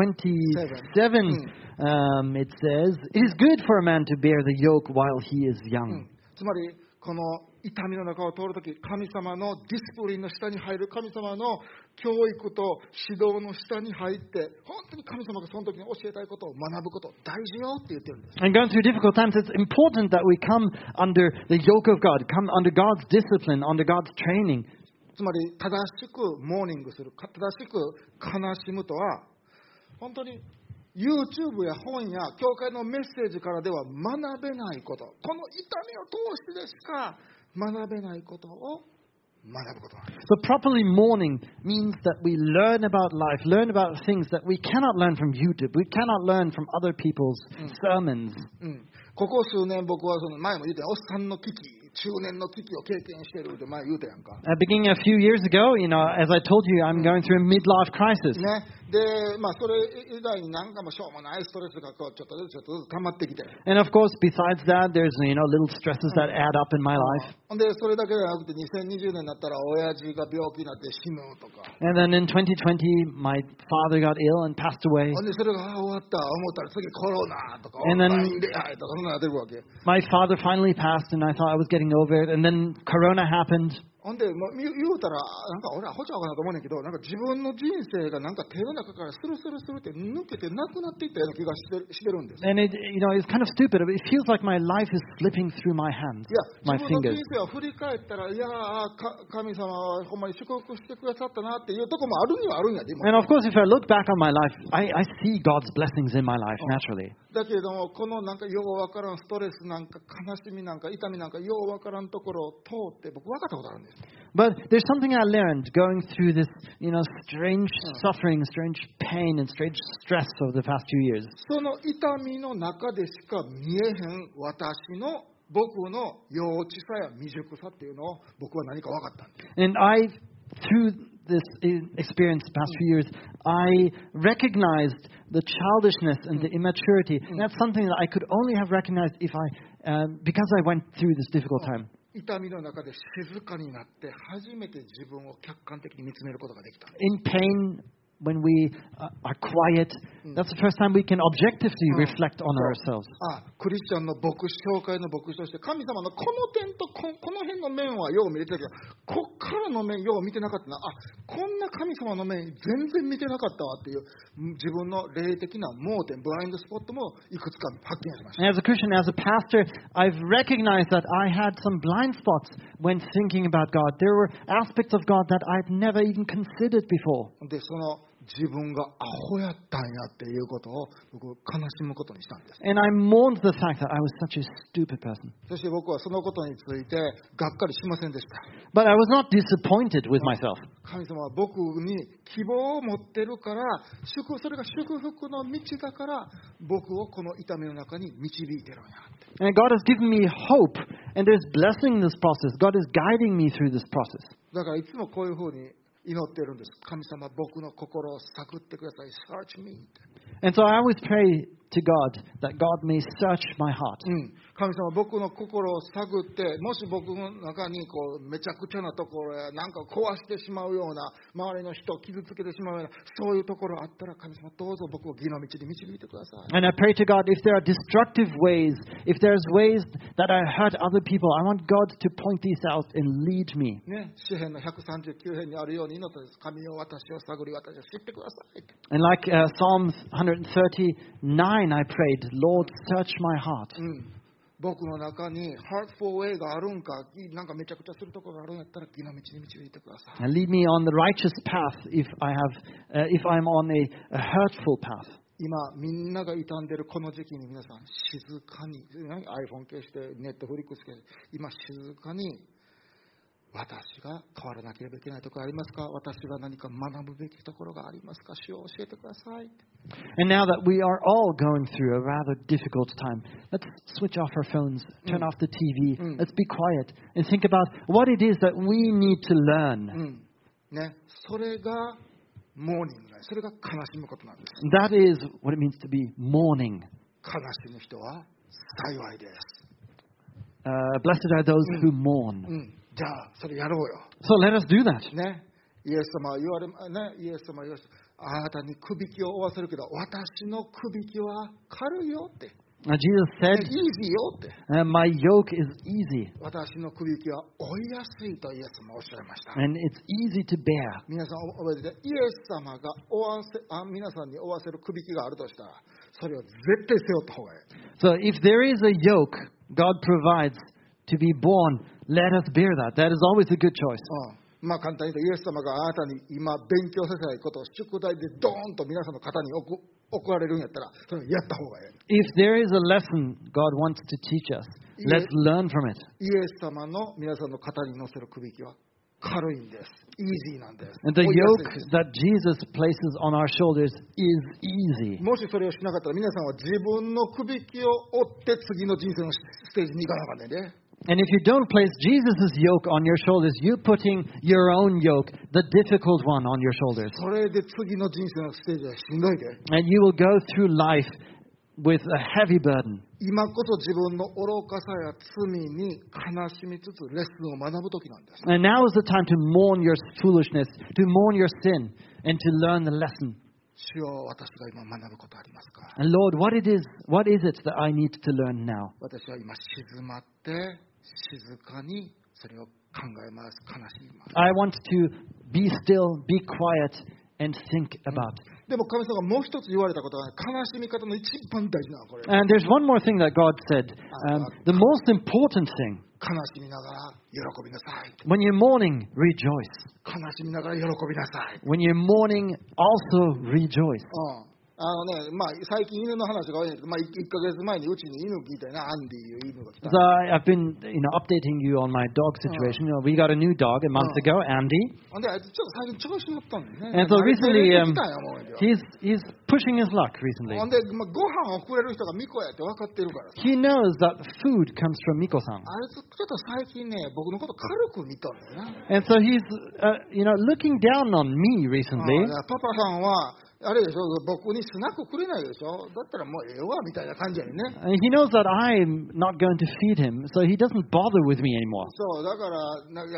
27, it says, It is good for a man to bear the yoke while he is young. つまりこの痛みの中を通るとき、神様のディスプリンの下に入る、神様の教育と指導の下に入って、本当に神様がその時に教えたいことを学ぶこと大事よって言ってるんです。 And going through difficult times, it's important that we come under the yoke of God, come under God's discipline, under God's training. つまり正しくモーニングする、正しく悲しむとは、本当に YouTube や本や教会のメッセージからでは学べないこと、この痛みを通してでしか学べないことを学ぶことなんです。 So properly mourning means that we learn about life, learn about things that we cannot learn from YouTube, we cannot learn from other people's sermons. ここ数年僕はその前も言ったおっさんの危機、中年の危機を経験しているって前言うたやんか。 Beginning a few years ago, as I told you, I'm going through a midlife crisis. ね、で、それ以外になんかもしょうもないストレスがこうちょっとずつ溜まってきて。 And of course, besides that, there's little stresses that add up in my life. ほんでそれだけじゃなくて2020年になったら親父が病気になって死ぬとか。 And then in 2020, my father got ill and passed away. ほんでそれが終わった思ったら次コロナとかオン And then- ライン恋愛とかそんなのやってるわけ。 My father finally passed, and I thought I was getting over it. And then Corona happened. ほんでもう言うたらなんか俺はほちゃうかなと思うねんけど、なんか自分の人生がなんか手の中からスルスルスルって抜けてなくなっていったような気がしてるんです。 And it's kind of stupid. It feels like my life is slipping through my hands, いや、 my 自分の fingers. 人生を振り返ったら、いや神様はほんまに祝福してくださったなっていうとこもあるにはあるんやで、今 And of course, if I look back on my life, I see God's blessings in my life naturally. だけれども、このなんかようわからんストレスなんか悲しみなんか痛みなんかようわからんところを通って僕分かったことあるんです。 But there's something I learned going through this, strange suffering, strange pain, and strange stress over the past 2 years. その痛みの中でしか見えへん僕の幼稚さや未熟さっていうのを僕は何か分かったんです。 And through this experience the past few years, I recognized the childishness and the immaturity. And that's something that I could only have recognized because I went through this difficult time. 痛みの中で静かになって初めて自分を客観的に見つめることができた。 In pain, when we are quiet, that's the first time we can objectively reflect on ourselves. クリスチャンの牧師、教会の牧師として神様のこの点とこの辺の面はよう見れてたけど、こっからの面よう見てなかったな。こんな神様の面全然見てなかったわっていう自分の霊的な盲点、ブラインドスポットもいくつか発見しました。 As a Christian, as a pastor, I've recognized that I had some blind spots when thinking about God. There were aspects of God that I'd never even considered before. で、その自分がアホやったんやっていうことを僕悲しむことにしたんです。 And I mourned the fact that I was such a stupid person. そして僕はそのことについてがっかりしませんでした。 But I was not disappointed with myself. 神様は僕に希望を持ってるから、それが祝福の道だから僕をこの痛みの中に導いてるんやって。 And God has given me hope, and there's blessing in this process. God is guiding me through this process. だからいつもこういうふうに祈ってるんです。神様、僕の心を探ってください。Search me. And so I always pray to God that God may search my heart. 神様、僕の心を探って、もし僕の中にめちゃくちゃなところやなんか壊してしまうような、周りの人を傷つけてしまうような、そういうところあったら、神様、どうぞ僕を義の道に導いてください。 And I pray to God, if there are destructive ways, if there's ways that I hurt other people, I want God to point these out and lead me. ね、詩編の139編にあるように祈ったです。神よ、私を探り、私を知ってください。 And like Psalms 139, I prayed, Lord, search my heart. 僕の中に hurtful way があるんか、なんかめちゃくちゃするところがあるんやったら、義の道に導いてください。 And lead me on the righteous path if I'm on a hurtful path. 今、みんなが傷んでるこの時期に皆さん、静かに、iPhone 消して、ネットフリックス消して、今、静かに、私が変わらなければいけないところありますか？私が何か学ぶべきところがありますか？主を教えてください。 And now that we are all going through a rather difficult time, let's switch off our phones, turn off the TV, let's be quiet and think about what it is that we need to learn. ね、それがモーニングなんです。それが悲しむことなんです。 That is what it means to be mourning. 悲しむ人は幸いです。 Blessed are those who mourn. じゃあ、それやろうよ。 So let us do that. ね、イエス様は言われました。あなたにくびきを負わせるけど、私のくびきは軽いよって。 Jesus said, easy よって。 My yoke is easy. 私のくびきは負いやすいとイエス様おっしゃいました。 And it's easy to bear. 皆さん覚えてて、イエス様が皆さんに負わせるくびきがあるとしたら、それを絶対背負った方がいい。 So if there is a yoke God provides to be borne, let us bear that. That is always a good choice. まあ簡単に言うと、イエス様があなたに今勉強させたいことを宿題でドーンと皆さんの肩に送られるんやったら、それをやった方がいい。 If there is a lesson God wants to teach us, let's learn from it. イエス様の皆さんの肩に乗せるくびきは軽いんです。easy なんです。 And the yoke that Jesus places on our shoulders is easy. もしそれをしなかったら、皆さんは自分のくびきを追って次の人生のステージに行かなかったね。 And if you don't place Jesus' yoke on your shoulders, you're putting your own yoke, the difficult one, on your shoulders. それで次の人生のステージはしんどいで。 And you will go through life with a heavy burden. 今こそ自分の愚かさや罪に悲しみつつレッスンを学ぶ時なんです。 And now is the time to mourn your foolishness, to mourn your sin, and to learn the lesson. 主よ、私が今学ぶことありますか？ And Lord, what is it that I need to learn now? 私は今静まって静かにそれを考えます。悲しみます。 I want to be still, be quiet, and think about. でも神様がもう一つ言われたことは、悲しみ方の一番大事なのはこれ。 And there's one more thing that God said. The most important thing. 悲しみながら喜びなさい。 When you're mourning, rejoice. 悲しみながら喜びなさい。 When you're mourning, also rejoice. 最近犬の話が多いんですけど、1ヶ月前にうちに犬聞いたよな、アンディいう犬が来た。 So I've been, updating you on my dog situation. We got a new dog a month ago, Andy. ほんで、あいつちょっと最近調子乗ったんだよね。 And so recently, 慣れてきたんや思うんだよ。 he's pushing his luck recently. ほんで、ご飯をくれる人がミコやって分かってるからさ。 He knows that food comes from Miko-san. あいつちょっと最近ね、僕のこと軽く見たんだよな。 And so he's, looking down on me recently. パパさんは、あれでしょ、僕にスナックくれないでしょ。だったらもうええわみたいな感じやね。 And he knows that I'm not going to feed him, so he doesn't bother with me anymore. そう、だから、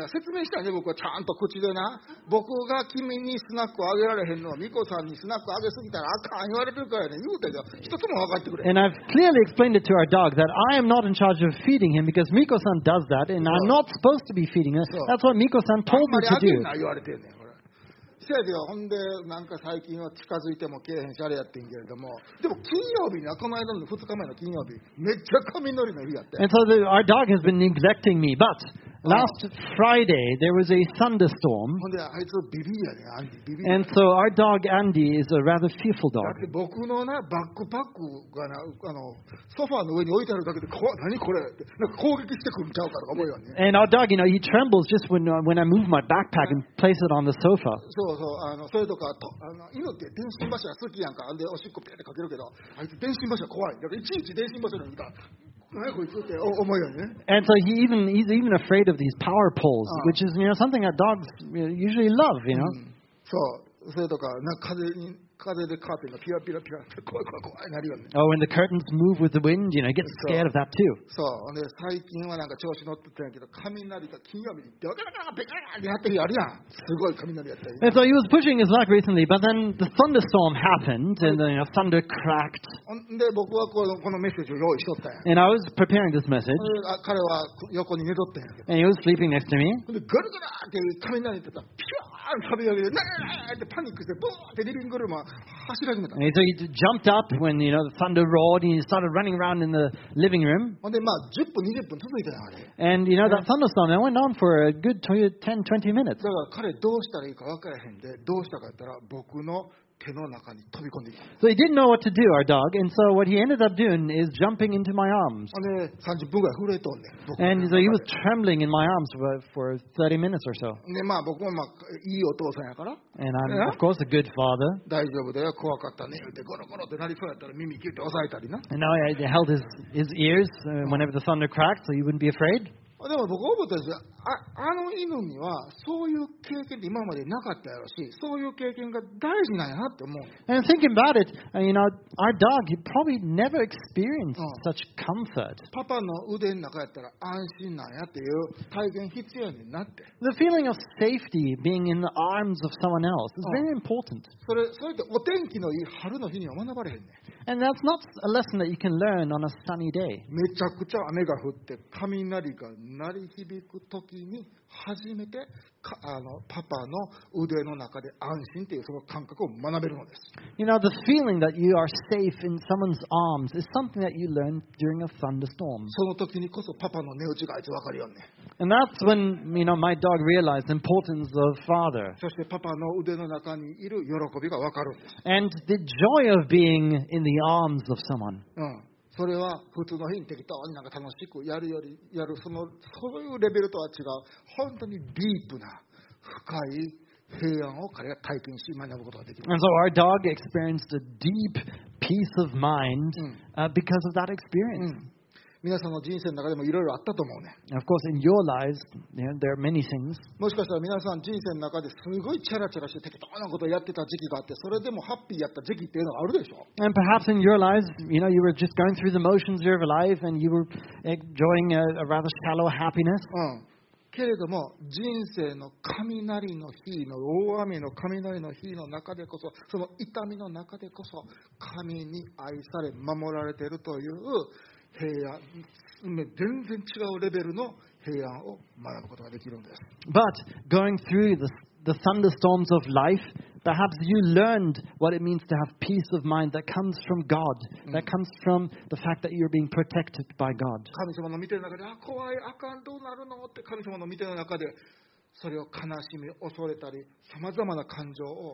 説明したね、僕はちゃんと口でな。僕が君にスナックをあげられへんのは、ミコさんにスナックあげすぎたらあかん言われてるからね、言うてんけど、一つも分かってくれ。 And I've clearly explained it to our dog that I am not in charge of feeding him because Miko-san does that, and I'm not supposed to be feeding him. That's what Miko-san あん told ま me り to あげ do. んな言われてんねん、これ。せやでよ、ほんで、なんか最近は近づいてもけえへんし、あれやってんけれども、でも金曜日に、この間の2日前の金曜日、めっちゃ髪のりの日やって。 And so our dog has been neglecting me, but last Friday there was a thunderstorm, ほんで、あいつビビやねん、アンディ、ビビ。 and so our dog Andy is a rather fearful だ dog. って僕のな、バックパックがな、ソファーの上に置いてあるだけで、何これって、なんか攻撃してくるんちゃうかとか思うよね。 And our dog, he trembles just when I move my backpack and place it on the sofa. そうそう、それとか犬って電信柱好きやんか。で、おしっこピュってかけるけど、あいつ電信柱怖い。だからいちいち電信柱に見たら、何こいつって思うよね。 And so he's even afraid of these power poles, which is something that dogs usually love, そう、それとか、風でカーテンがピラピラピラって怖いなるよね。 Oh, when the curtains move with the wind, he gets scared of that too. そう。で、最近はなんか調子乗ってたんやけど、雷が金曜日にドカカカペカカってやってるやるやん。すごい雷やったり。 And so he was pushing his luck recently, but then the thunderstorm happened, and then thunder cracked. で、僕はこのメッセージを用意しとったんや。 And I was preparing this message, 彼は横に寝とったんやけど。 and he was sleeping next to me. で、ガルガラーって雷ってたら、ピューン飛び上げて、ってパニックして、ブーってリビングルームは走り始めた。 And so he jumped up when the thunder roared, and he started running around in the living room. ほんで、10分、20分続いたよ、あれ。 And that thunderstorm that went on for a good 10, 20 minutes. だから彼どうしたらいいか分からへんで、どうしたか言ったら、僕の手の中に飛び込んでいく。 So he didn't know what to do, our dog, and so what he ended up doing is jumping into my arms. ほんで、30分ぐらい震えとんねん。僕の And 中 so で he was trembling in my arms for 30 minutes or so. で、僕もいいお父さんやから、 And I'm, of course, a good father. 大丈夫だよ、怖かったね。ってゴロゴロってなりそうやったら耳キュッて押さえたりな。 And now I held his ears whenever the thunder cracked, so he wouldn't be afraid. でも僕思ったんですよ。あの犬にはそういう経験って今までなかったやろし、そういう経験が大事なんやなって思う。 And thinking about it, our dog, he probably never experienced such comfort. パパの腕の中やったら安心なんやっていう体験必要やねんなって。 The feeling of safety being in the arms of someone else is very important. それってお天気のいい春の日には学ばれへんねん。 And that's not a lesson that you can learn on a sunny day. めちゃくちゃ雨が降って雷が鳴り響く時に初めてパパの腕の中で安心というその感覚を学べるのです。 The feeling that you are safe in someone's arms is something that you learn during a thunderstorm. その時にこそパパの値打ちがあいつ分かるよね。 And that's when, my dog realized the importance of father. そしてパパの腕の中にいる喜びが分かるんです。 And the joy of being in the arms of someone. それは普通の日に適当になんか楽しくやるよりそういうレベルとは違う本当にディープな深い平安を彼が体験し学ぶことができる。 And so our dog experienced a deep peace of mind because of that experience. 皆さんの人生の中でもいろいろあったと思うね。 Of course, in your lives, there are many things. もしかしたら皆さん人生の中ですごいチャラチャラして適当なことをやってた時期があって、それでもハッピーやった時期っていうのがあるでしょ。 And perhaps in your lives, you were just going through the motions of your life and you were enjoying a rather shallow happiness. けれども人生の雷の日の大雨の雷の日の中でこそ、その痛みの中でこそ神に愛され守られているという平安、全然違うレベルの平安を学ぶことができるんです。 But going through the thunderstorms of life, perhaps you learned what it means to have peace of mind that comes from God, that comes from the fact that you're being protected by God. 神様の見てる中で、怖い、あかん、どうなるのって神様の見てる中で、それを悲しみ、恐れたり、さまざまな感情を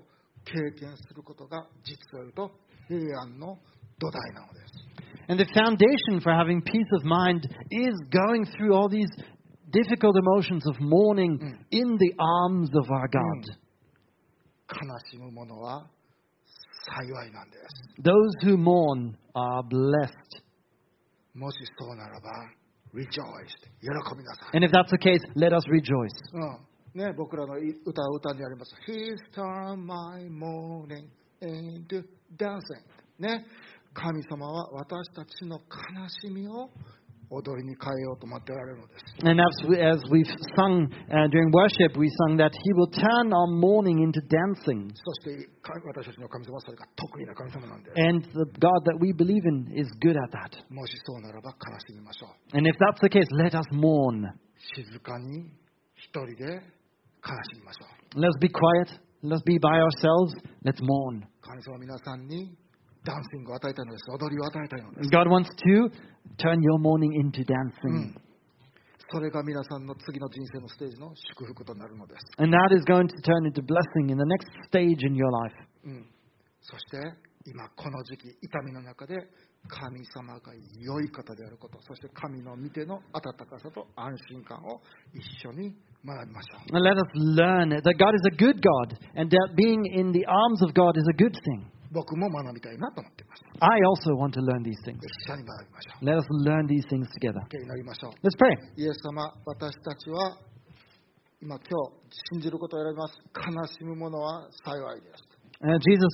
経験することが実を言うと平安の土台なのです。 And the foundation for having peace of mind is going through all these difficult emotions of mourning in the arms of our God. 悲しむ者は幸いなんです。 Those who mourn are blessed. もしそうならば rejoice 喜びなさい。 And if that's the case, let us rejoice. ね、僕らの歌にあります。He's turned my mourning into dancing。ね、神様は私たちの悲しみを踊りに変えようと待っておられるのです。 And as we've sung during worship, we sung that He will turn our mourning into dancing. そして私たちの神様はそれが得意な神様なんです。 And the God that we believe in is good at that. もしそうならば悲しみましょう。 And if that's the case, let us mourn. 静かに一人で悲しみましょう。 Let's be quiet. Let's be by ourselves. Let's mourn. 神様は皆さんにダンシングを与えたいのです。踊りを与えたいのです。 God wants to turn your mourning into dancing. それが皆さんの次の人生のステージの祝福となるのです。 And that is going to turn into blessing in the next stage in your life. そして今この時期痛みの中で神様が良い方であること、そして神の御手の温かさと安心感を一緒に学びましょう。 And let us learn that God is a good God and that being in the arms of God is a good thing. 僕も学びたいなと思っています。 I also want to learn these things. 一緒に学びましょう。 Let us learn these things together. 祈りましょう。 Let's pray. イエス様、私たちは今日信じることを選びます。悲しむ者は幸いです。 Jesus,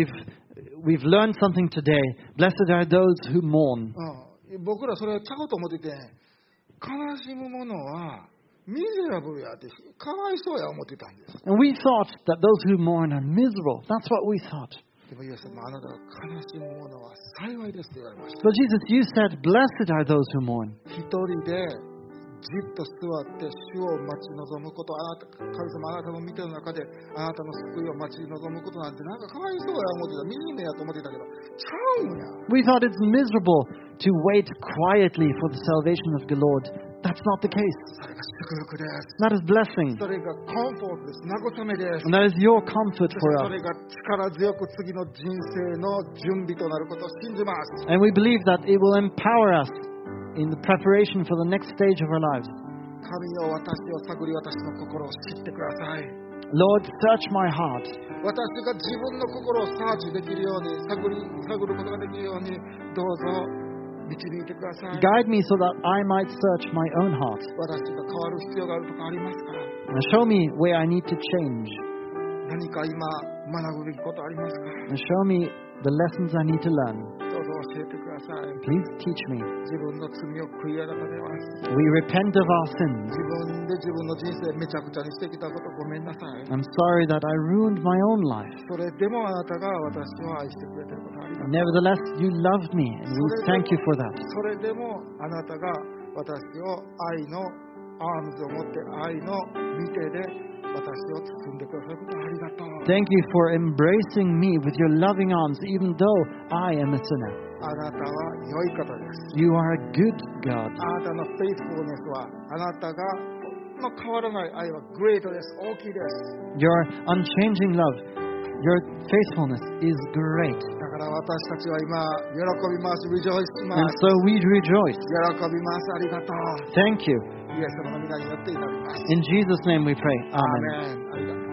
we've learned something today. Blessed are those who mourn. 僕らそれちゃうと思ってて、悲しむ者はミゼラブルやってかわいそうや思ってたんです。 And we thought that those who mourn are miserable. That's what we thought. でもイエス様、あなたが悲しむ者は幸いですと言われました。 But Jesus, you said, blessed are those who mourn. 一人でじっと座って主を待ち望むこと、神様あなたの見ての中であなたの救いを待ち望むことなんてなんかかわいそうや思ってた、惨めやと思ってたけど、ちゃうんや。 We thought it's miserable to wait quietly for the salvation of the Lord. That's not the case. それが祝福です。 That is blessing. それがコンフォートです。慰めです。 And that is your comfort そ for れ us. が力強く次の人生の準備となることを信じます。 And we believe that it will empower us in the preparation for the next stage of our lives. 神よ、私を探り、私の心を知ってください。 Lord, search my heart. 私が自分の心をサーチできるように、探ることができるように、どうぞ導いてください。 Guide me so that I might search my own heart. 私が変わる必要があるとかありますか？ And show me where I need to change. 何か今学ぶべきことありますか？ And show me the lessons I need to learn. どうぞ教えてください。 Please teach me. 自分の罪を悔い改めます。 We repent of our sins. 自分で自分の人生めちゃくちゃにしてきたことごめんなさい。 I'm sorry that I ruined my own life. それでもあなたが私を愛してくれていることあります。 Nevertheless, you loved me, and we thank you for that. それでもあなたが私を愛のアームズを持って愛の見てで私を包んでくださることありがとう。 Thank you for embracing me with your loving arms, even though I am a sinner. あなたは良い方です。 You are a good God. あなたのフェイスフルネスはあなたがの変わらない愛はグレートです。大きいです。 Your unchanging love, your faithfulness is great. だから私たちは今喜びます。リジョイしま And す。 so we rejoice. 喜びます。ありがとう。 Thank you. イエス様の皆によっていただきます。 In Jesus' name we pray. ア Amen. ーメン。ありがとう。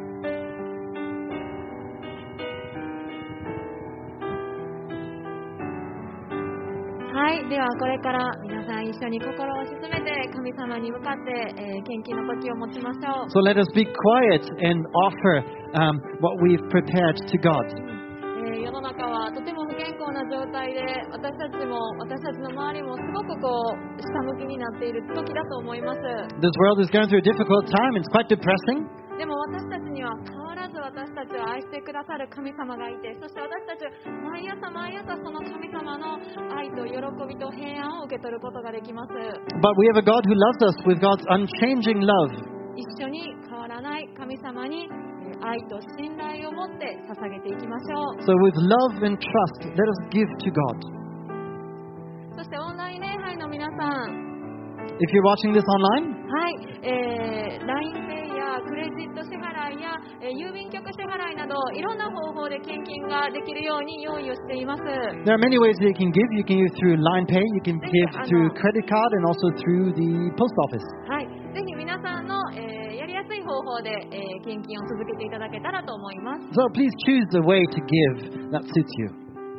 はい、ではこれから皆さん一緒に心を沈めて神様に向かって、献金の時を持ちましょう。 So let us be quiet and offer what we've prepared to God. 世の中はとても不健康な状態で私たちの周りもすごく下向きになっている時だと思います。 This world is going through a difficult time. It's quite depressing. でも私たちには変わらず私たちを愛してくださる神様がいて、そして私たちは毎朝その神様の愛と喜びと平安を受け取ることができます。 But we have a God who loves us with God's unchanging love. 一緒に変わらない神様に愛と信頼を持って捧げていきましょう。 So with love and trust, let us give to God. そしてオンライン礼拝の皆さん、 If you're watching this online, はい、LINEPay やクレジット支払いや、郵便局支払いなどいろんな方法で献金ができるように用意をしています。 There are many ways that you can give. You can give through Line Pay, you can give through credit card, and also through the post office. はい、ぜひ皆さんの、やりやすい方法で、献金を続けていただけたらと思います。 So please choose the way to give that suits you.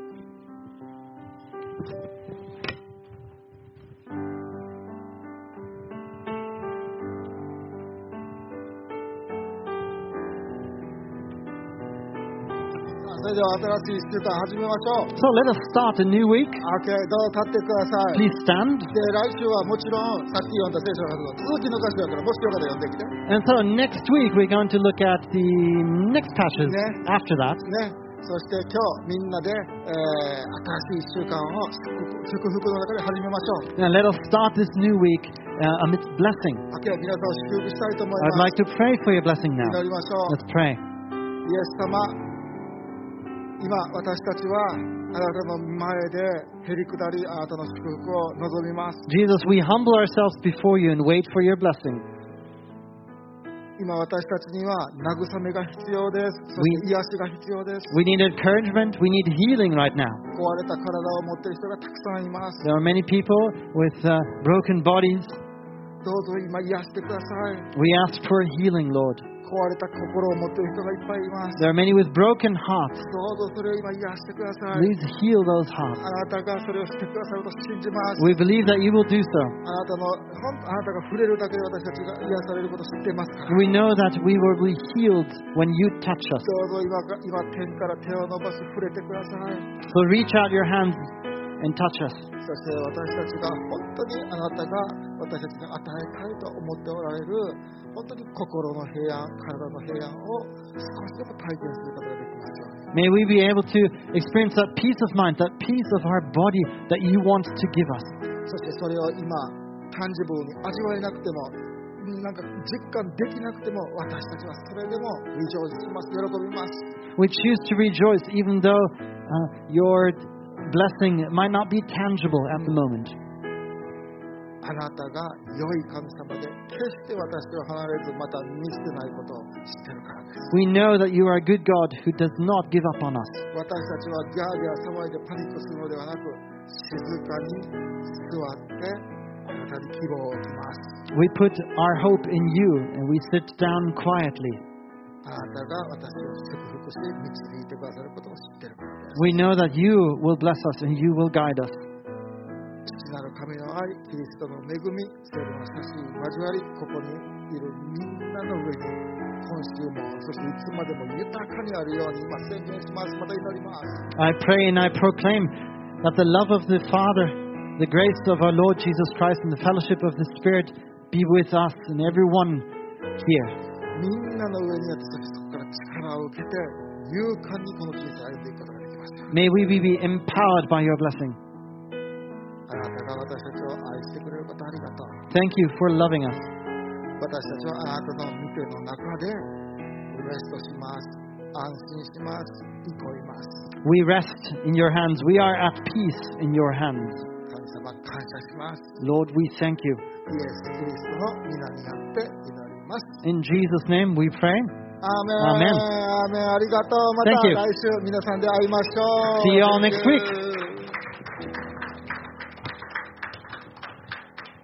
それでは新しい1週間始めましょう。 So let us start a new week. OK、どうぞ立ってください。 Please stand. で、来週はもちろんさっき読んだ聖書の続きの箇所だから、もしよかったら読んできて。 And so next week we're going to look at the next passages Yeah. after that. ね、そして今日みんなで、新しい1週間を祝福の中で始めましょう。 And let us start this new week amidst blessing. OK、皆さんを祝福したいと思い I'd ます。 like to pray for your blessing 祈 now. りましょう。 Let's pray. イエス様、今私たちはあなたの前でへりくだり、あなたの祝福を望みます。 Jesus, we humble ourselves before you and wait for your blessing. 今私たちには慰めが必要です。そして癒しが必要です。 We need encouragement. We need healing right now. 壊れた体を持っている人がたくさんいます。 There are many people with broken bodies. どうぞ今癒してください。 We ask for healing, Lord. 壊れた心を持っている人がいっぱいいます。 There are many with broken hearts. どうぞそれを今癒してください。 Please heal those hearts. あなたがそれをしてくださると信じます。 We believe that you will do so. あなたが触れるだけで私たちが癒されることを知っていますから。 We know that we will be healed when you touch us. どうぞ今天から手を伸ばし触れてください。 So reach out your hands and touch us. そして私たちが本当にあなたが私たちに与えたいと思っておられる本当に心の平安、体の平安を少しでも体験することができますように。 May we be able to experience that peace of mind, that peace of our body that you want to give us. そしてそれを今タンジブルに味わえなくてもなんか実感できなくても私たちはそれでもリジョイスします。喜びます。 We choose to rejoice even though your blessing might not be tangible at the moment. あなたが良い神様で決して私を離れずまた見捨てないことを知っているからです。 We know that you are a good God who does not give up on us. 私たちはギャーギャー騒いでパニックするのではなく静かに座ってあなたに希望を置きます。 We put our hope in you and we sit down quietly. あなたが私を祝福し導いてくださることを知っているからです。 We know that you will bless us and you will guide us. 父なる神の愛、キリストの恵み、聖霊の親しい交わり、ここにいるみんなの上に今週もそしていつまでも豊かにあるように今宣言します。また祈ります。 I pray and I proclaim that the love of the Father, the grace of our Lord Jesus Christ, and the fellowship of the Spirit be with us and everyone here. みんなの上にあってそこから力を受けて勇敢にこの人生を歩んでいくことができました。 May we be empowered by your blessing. あなたが私たちを愛してくれることありがとう。 Thank you for loving us. 私たちはあなたの御手の中でレストします。安心します。憩います。 We rest in your hands. We are at peace in your hands. 神様感謝します。 Lord, we thank you. イエス・キリストの皆にあって祈ります。 In Jesus' name we pray. アーメン。アーメン。ありがとう。また Thank you. 来週皆さんで会いましょう。 See you all next week.